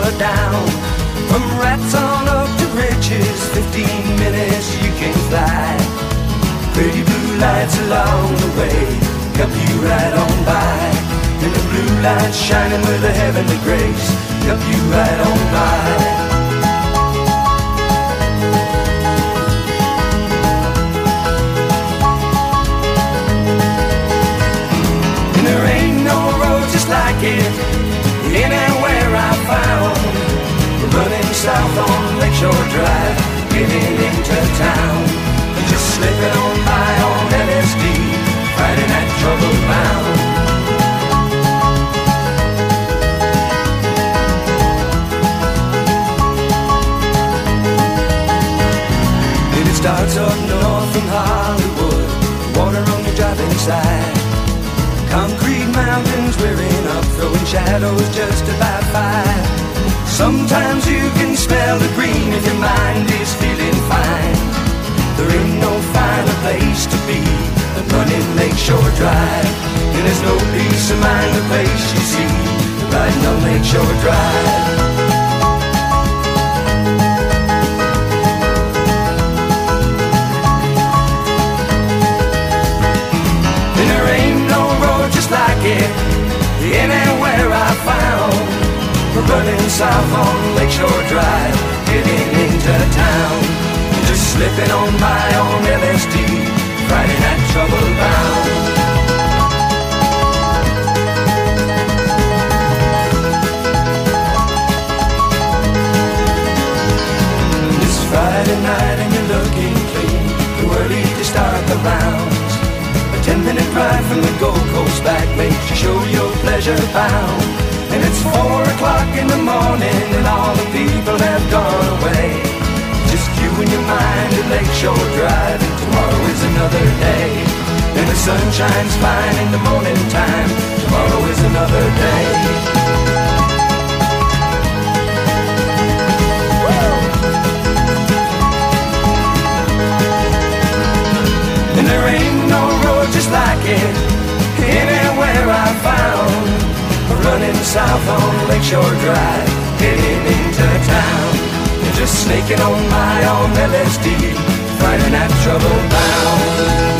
are down. From rats on up to riches, fifteen minutes you can fly. Pretty blue lights along the way help you right on by. And the blue lights shining with a heavenly grace help you right on by. Like it anywhere I found. We're running south on Lakeshore Drive, getting into town. Just slipping on by on L S D, fighting that trouble bound. And it starts up north from Hollywood, water on your driving side. Concrete mountains rearing up, throwing shadows just about five. Sometimes you can smell the green if your mind is feeling fine. There ain't no finer place to be than running Lakeshore Drive. And there's no peace of mind the place you see riding on Lakeshore Drive. Like it anywhere I found. We're running south on Lakeshore Drive, getting into town. Just slipping on by on L S D, Friday night trouble bound. It's Friday night and you're looking clean, too early to start the rounds. Ten minute drive from the Gold Coast back makes you show your pleasure bound. And it's four o'clock in the morning and all the people have gone away. Just you and your mind at Lakeshore Drive, and tomorrow is another day. And the sun shines fine in the morning time, tomorrow is another day. And there ain't no road just like it anywhere I found. Running south on Lakeshore Drive, getting into town. And just snaking on by on L S D, Friday night trouble bound.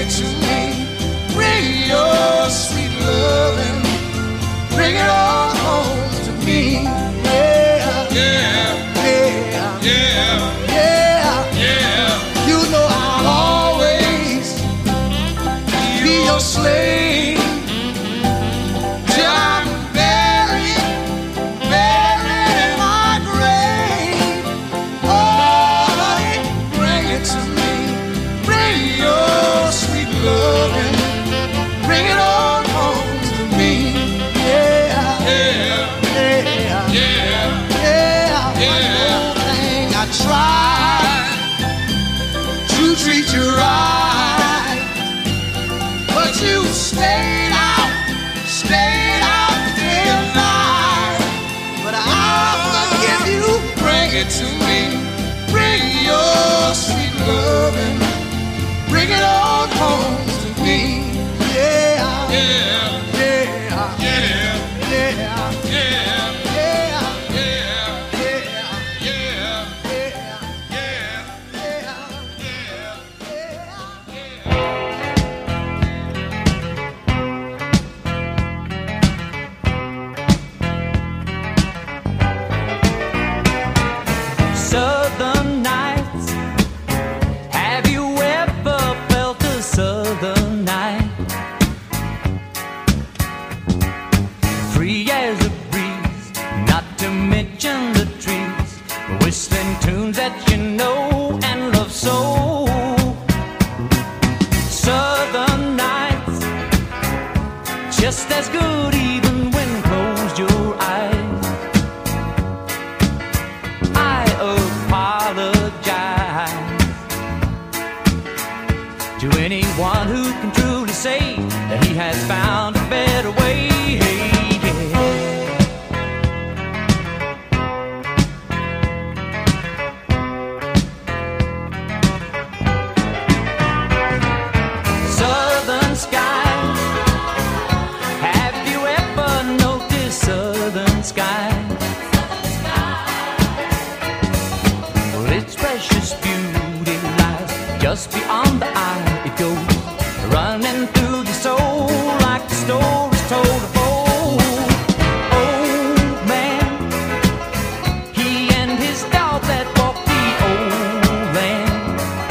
it to me. Bring your sweet loving, bring it all home to me. Yeah, yeah, yeah, yeah, yeah, yeah. You know I'll always be your slave till I'm buried, buried in my grave. Oh, bring it to me, bring your sweet loving, bring it all home to me. Yeah, yeah, yeah, yeah, yeah. One more thing I tried to treat you right, but you stayed out, stayed out day and night. But I'll forgive you. Bring it to me, bring your sweet loving, bring it all home to me. Yeah, yeah, yeah, yeah, yeah, yeah, yeah, yeah, yeah, Southern nights. Have you ever felt a southern night? Free as a breeze, not to mention the trees, whistling tunes that you know and love so. Southern nights, just as good even when closed your eyes. I apologize to anyone who can truly say that he has found a better way. Southern skies, have you ever noticed southern skies? Well, its precious beauty lies just beyond the eye. It goes running through the soul like the stories told of old. Old man, he and his dog that walked the old land.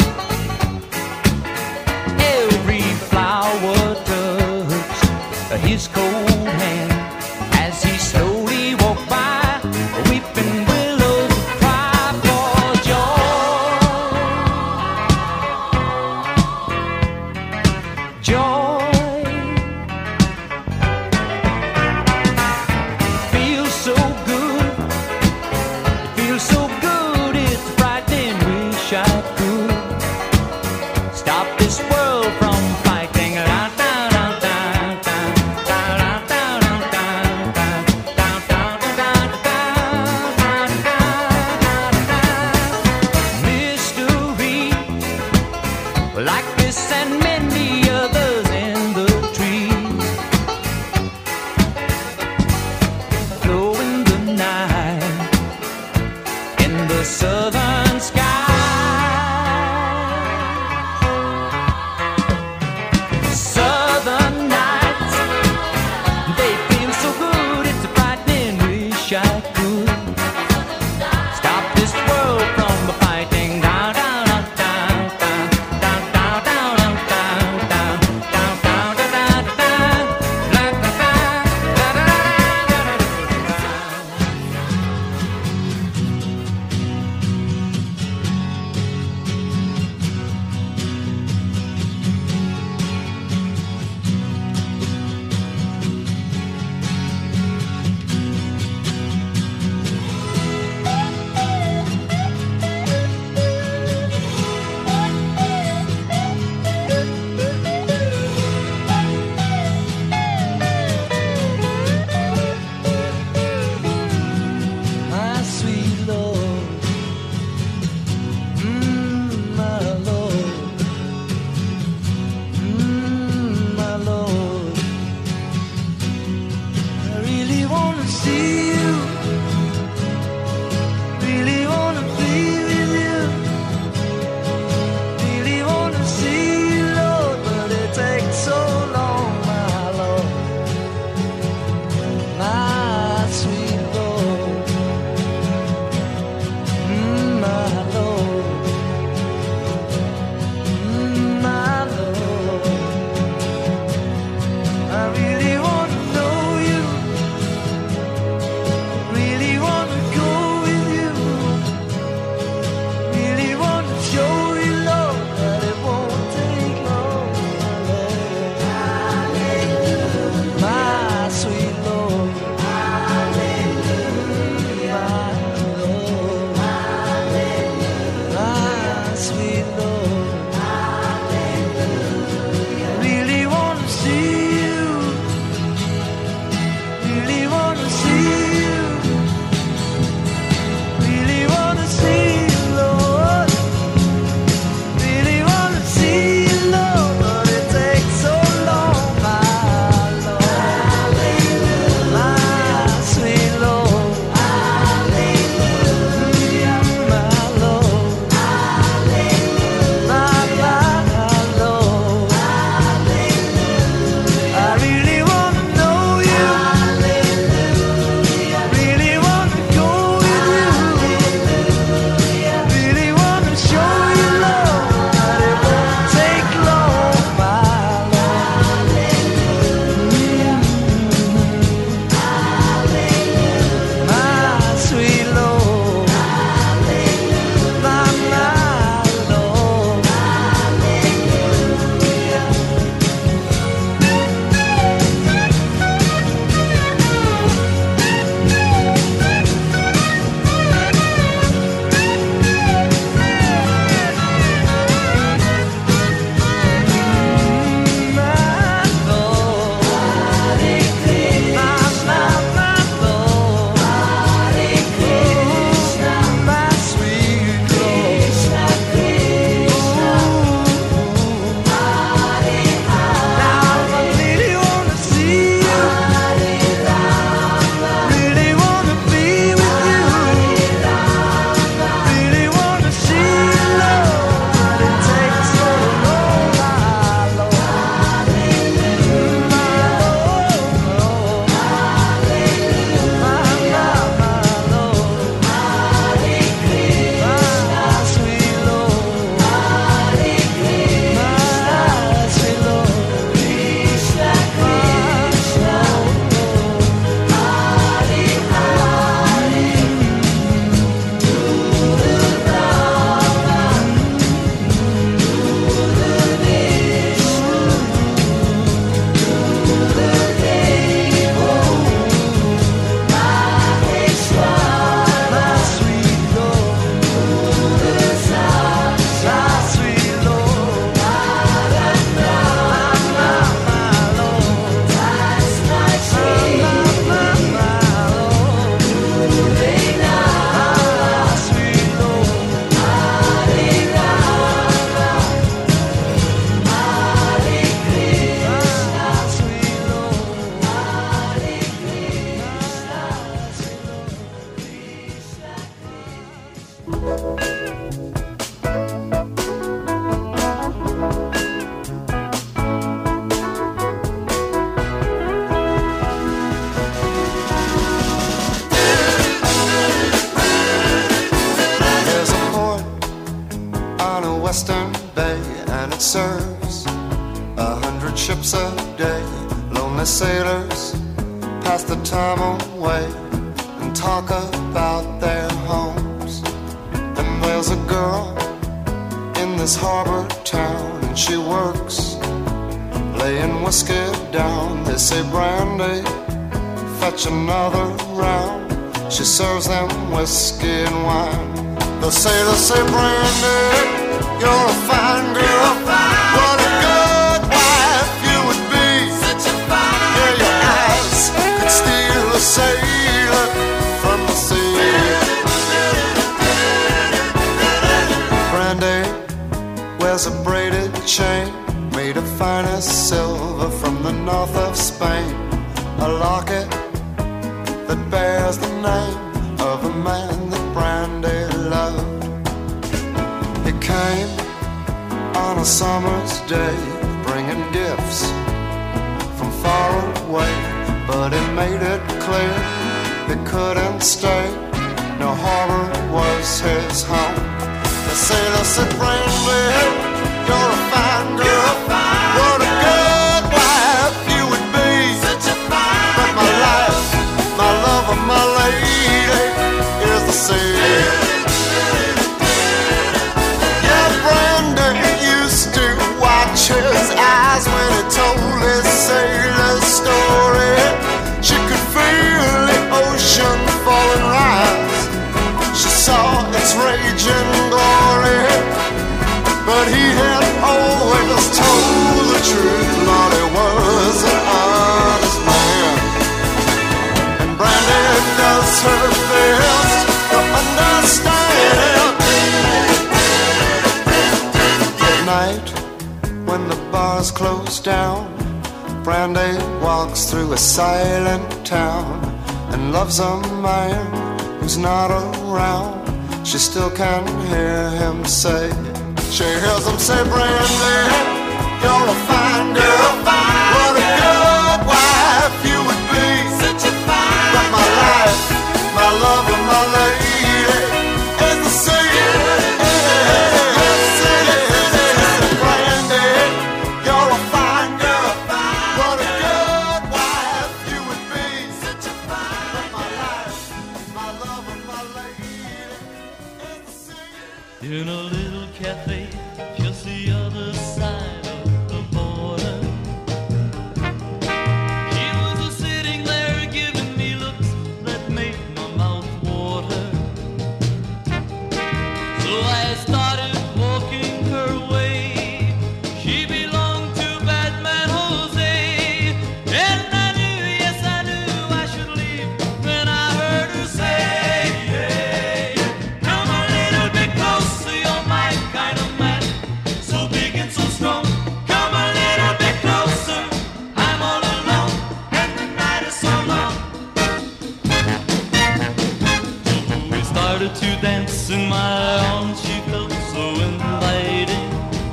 Every flower touched his cold hand as he slowly walked by. Weeping willows cry for joy, joy. Feels so good, it feels so good. It's frightening. Wish I could stop this world from fighting. Mystery, like this and many others in the trees, glow in the night in the southern sky. Southern nights, they feel so good. It's a frightening. Wish I could stop this world from fighting. Down, down, down, down, down, down, down, down, down, down. hundred ships a day. Lonely sailors pass the time away and talk about their homes. And there's a girl in this harbor town, and she works laying whiskey down. They say, Brandy, fetch another round. She serves them whiskey and wine. The sailors say, Brandy, you're a fine girl. What a good wife you would be. Such a fine Yeah, your eyes could steal a sailor from the sea. Brandy wears a braided chain made of finest silver from the north of Spain. A locket that bears the name of a man that Brandy loved. He came on a summer's day, bringing gifts from far away, but he made it clear he couldn't stay. No harbor was his home. The sailor said, Brandy, you're a fine girl. What a good wife you would be. Such a fine But my life, my love, and my lady is the sea. Yeah, Brandon used to watch his eyes when he told his sailor story. She could feel the ocean fall and rise. She saw its raging glory. But he had always told the truth. Lord, he was an honest man. And Brandy does her best to understand. At night, when the bars close down, Brandy walks through a silent town and loves a man who's not around. She still can hear him say, she hears him say, Brandy, you're a fine girl. What a good wife you would be. Such a fine But my life, my love, and my lady is the sea. Brandy, you're a fine girl. What a good wife you would be. Such a fine But my life, my love, and my lady is the sea. In a little cafe just the other side of the border, he was a sitting there giving me looks that made my mouth water. So I started walking her way. She belonged to Batman Jose, and I knew, yes I knew I should leave when I heard her say, come a little bit closer, you're my kind of man, so big and so strong. Come a little bit closer, I'm all alone, and the night is so long. So we started to dance in my arms, she felt so inviting,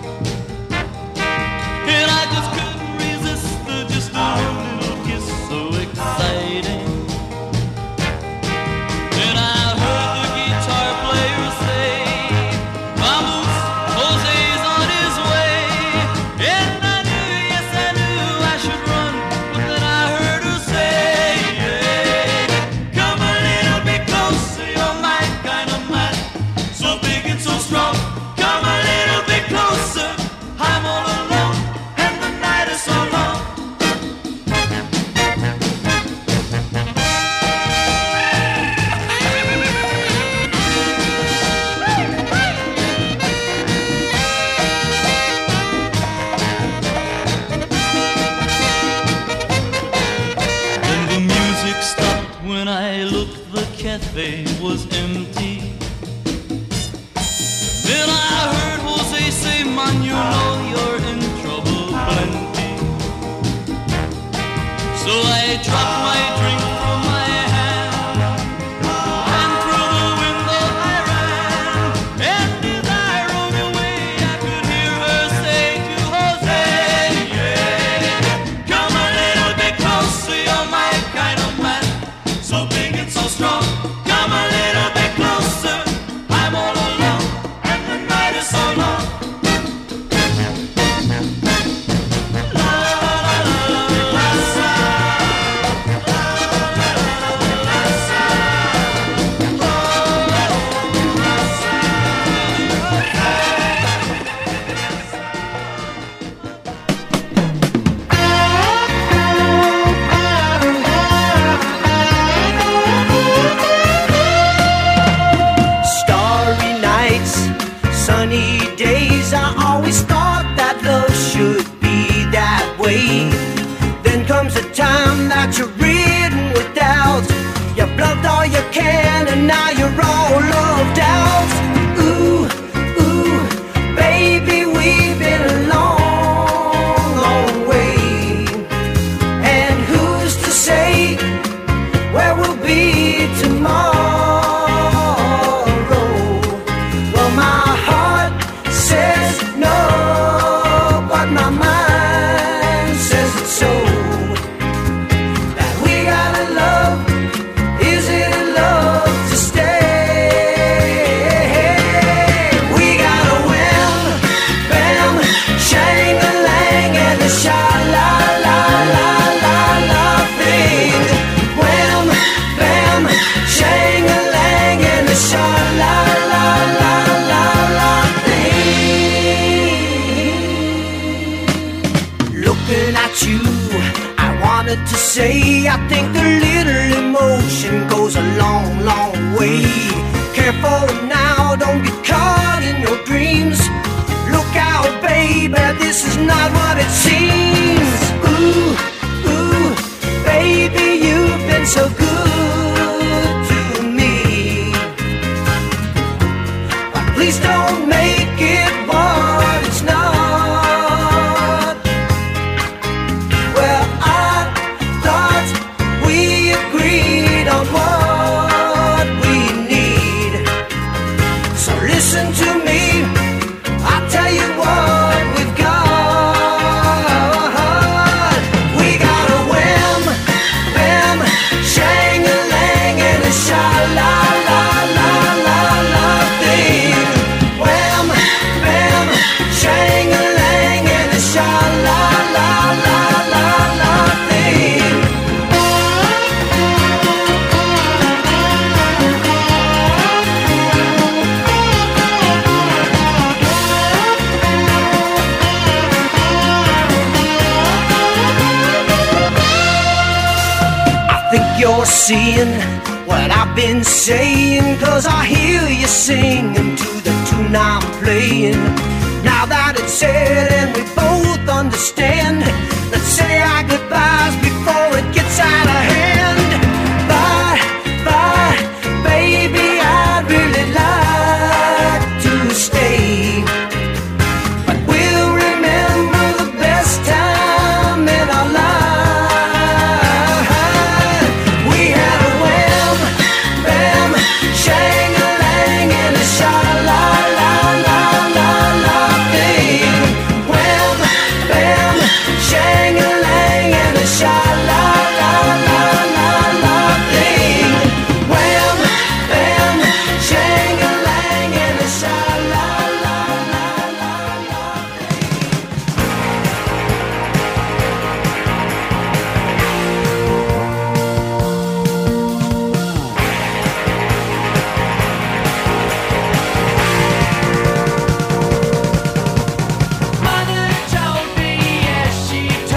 and I just couldn't resist her, just a little kiss so exciting. Then I heard the guitar player say, vamos, Jose's on his way. And I knew, yes I knew I should run, but then I heard her say, come a little bit closer, you're my kind of man, so big and so strong. Come a little bit closer, I'm all alone, and the night is so long. Then the music stopped when I looked, the cafe was empty. Then I heard Jose say, man, you know you're in trouble plenty. So I dropped my drink from my hand, and through the window I ran. And as I rode away, I could hear her say to Jose, come a little bit closer, you're my kind of man, so big and so strong. Come a little bit closer, I'm all alone, and the night is so long. La, looking at you. I wanted to say I think a little emotion goes a long, long way. Careful now, don't get caught in your dreams. Look out, baby, this is not what it seems. Ooh, ooh, baby, you've been so good to me. But please don't make it what it's not. Well, I thought we agreed on what we need. So listen to me, I'll tell you what we've got. We got a wham, bam, shang-a-lang and a sha-la-la-la-la-la thing. Wham, bam, shang-a-lang and a sha-la-la-la-la-la thing. I think you're seeing what I've been saying, 'cause I hear you singing to the tune I'm playing. Now that it's said and we both understand, let's say our goodbyes before it gets out of hand. Bye, bye, baby, I'd really like to stay. But we'll remember the best time in our life. We had a wham, bam, shang-a-lang and a sha-la-la-la-la-la thing. Wham, bam, shang-a-lang and a sha-la-la-la-la-la thing. Wham, bam, shang-a-lang and a sha-la-la-la-la-la thing. Mother told me, yes, she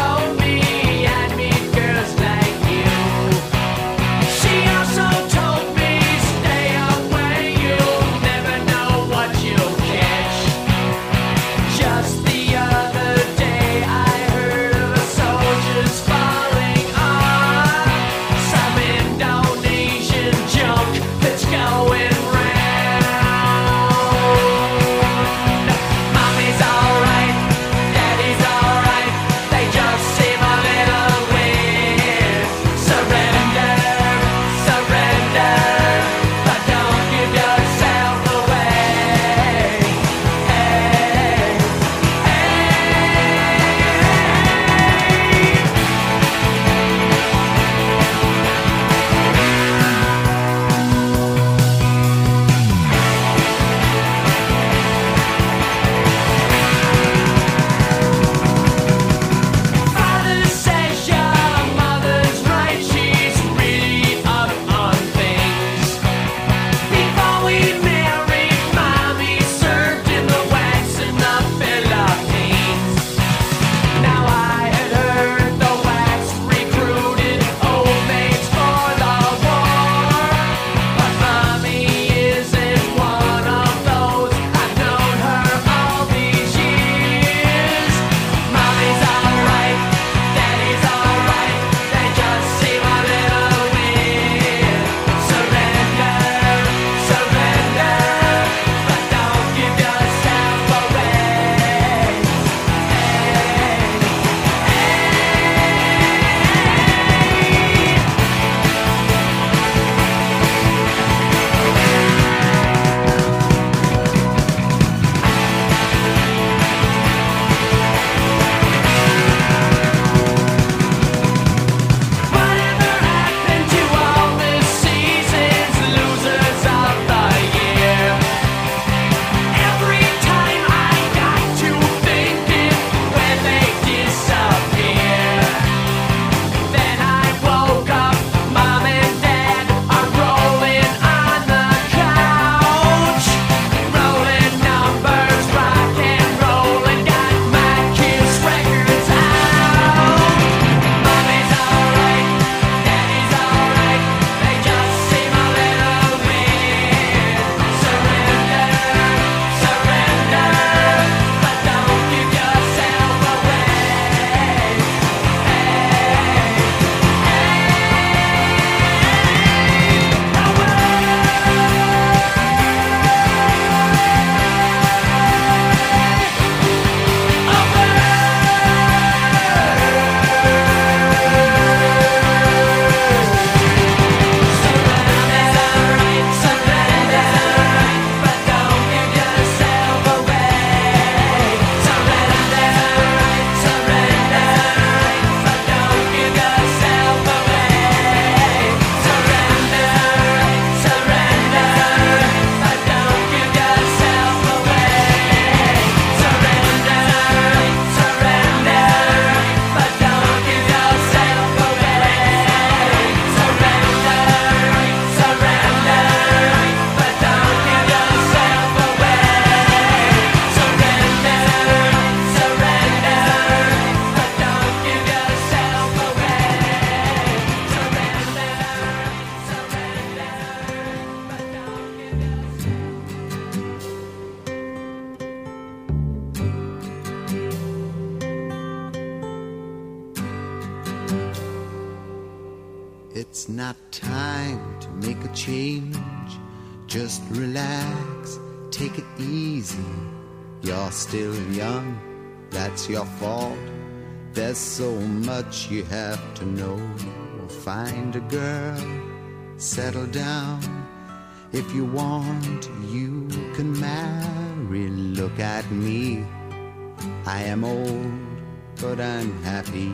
It's not time to make a change. Just relax, take it easy. You're still young, that's your fault. There's so much you have to know. Find a girl, settle down. If you want, you can marry. Look at me, I am old, but I'm happy.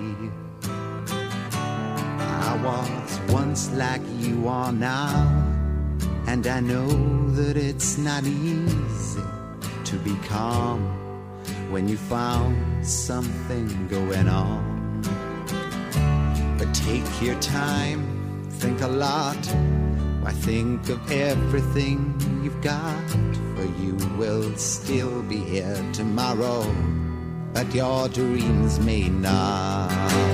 I was once like you are now, and I know that it's not easy to be calm when you found something going on. But take your time, think a lot. Why, think of everything you've got, for you will still be here tomorrow, but your dreams may not.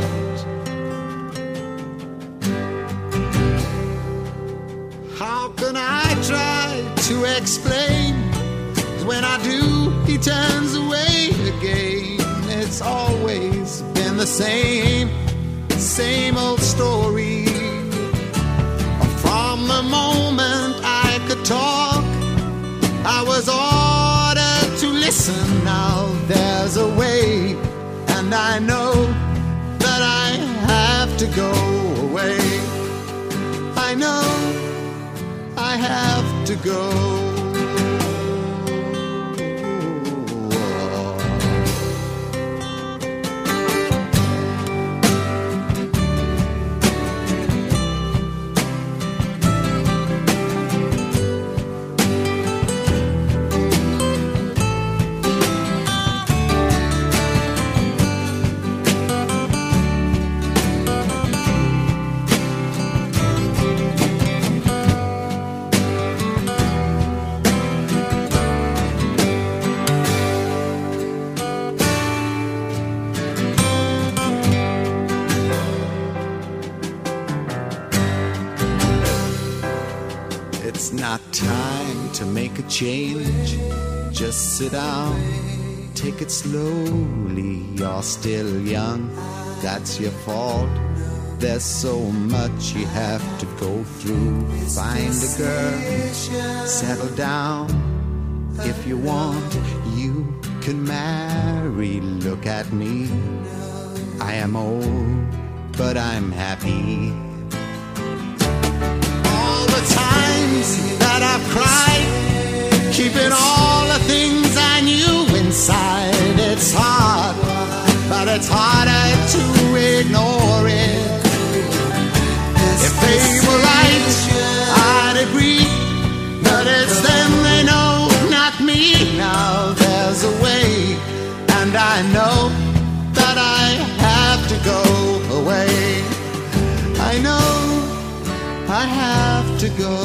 How can I try to explain? When I do, he turns away again. It's always been the same, same old story. From the moment I could talk, I was ordered to listen. Now there's a way, and I know that I have to go away. I know I have to go. It's not time to make a change. Just sit down, take it slowly. You're still young, that's your fault. There's so much you have to go through. Find a girl, settle down. If you want, you can marry. Look at me, I am old, but I'm happy. Times that I've cried, keeping all the things I knew inside. It's hard, but it's harder to ignore it. If they were right, I'd agree, but it's them they know, not me. Now there's a way, and I know that I have to go away. I know I have to go.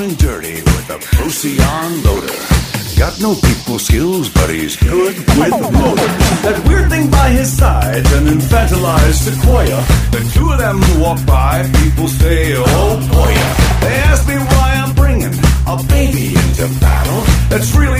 and dirty with a Procyon loader. Got no people skills, but he's good with motors. That weird thing by his side, an infantilized sequoia. The two of them walk by, people say, oh boy. They ask me why I'm bringing a baby into battle. That's really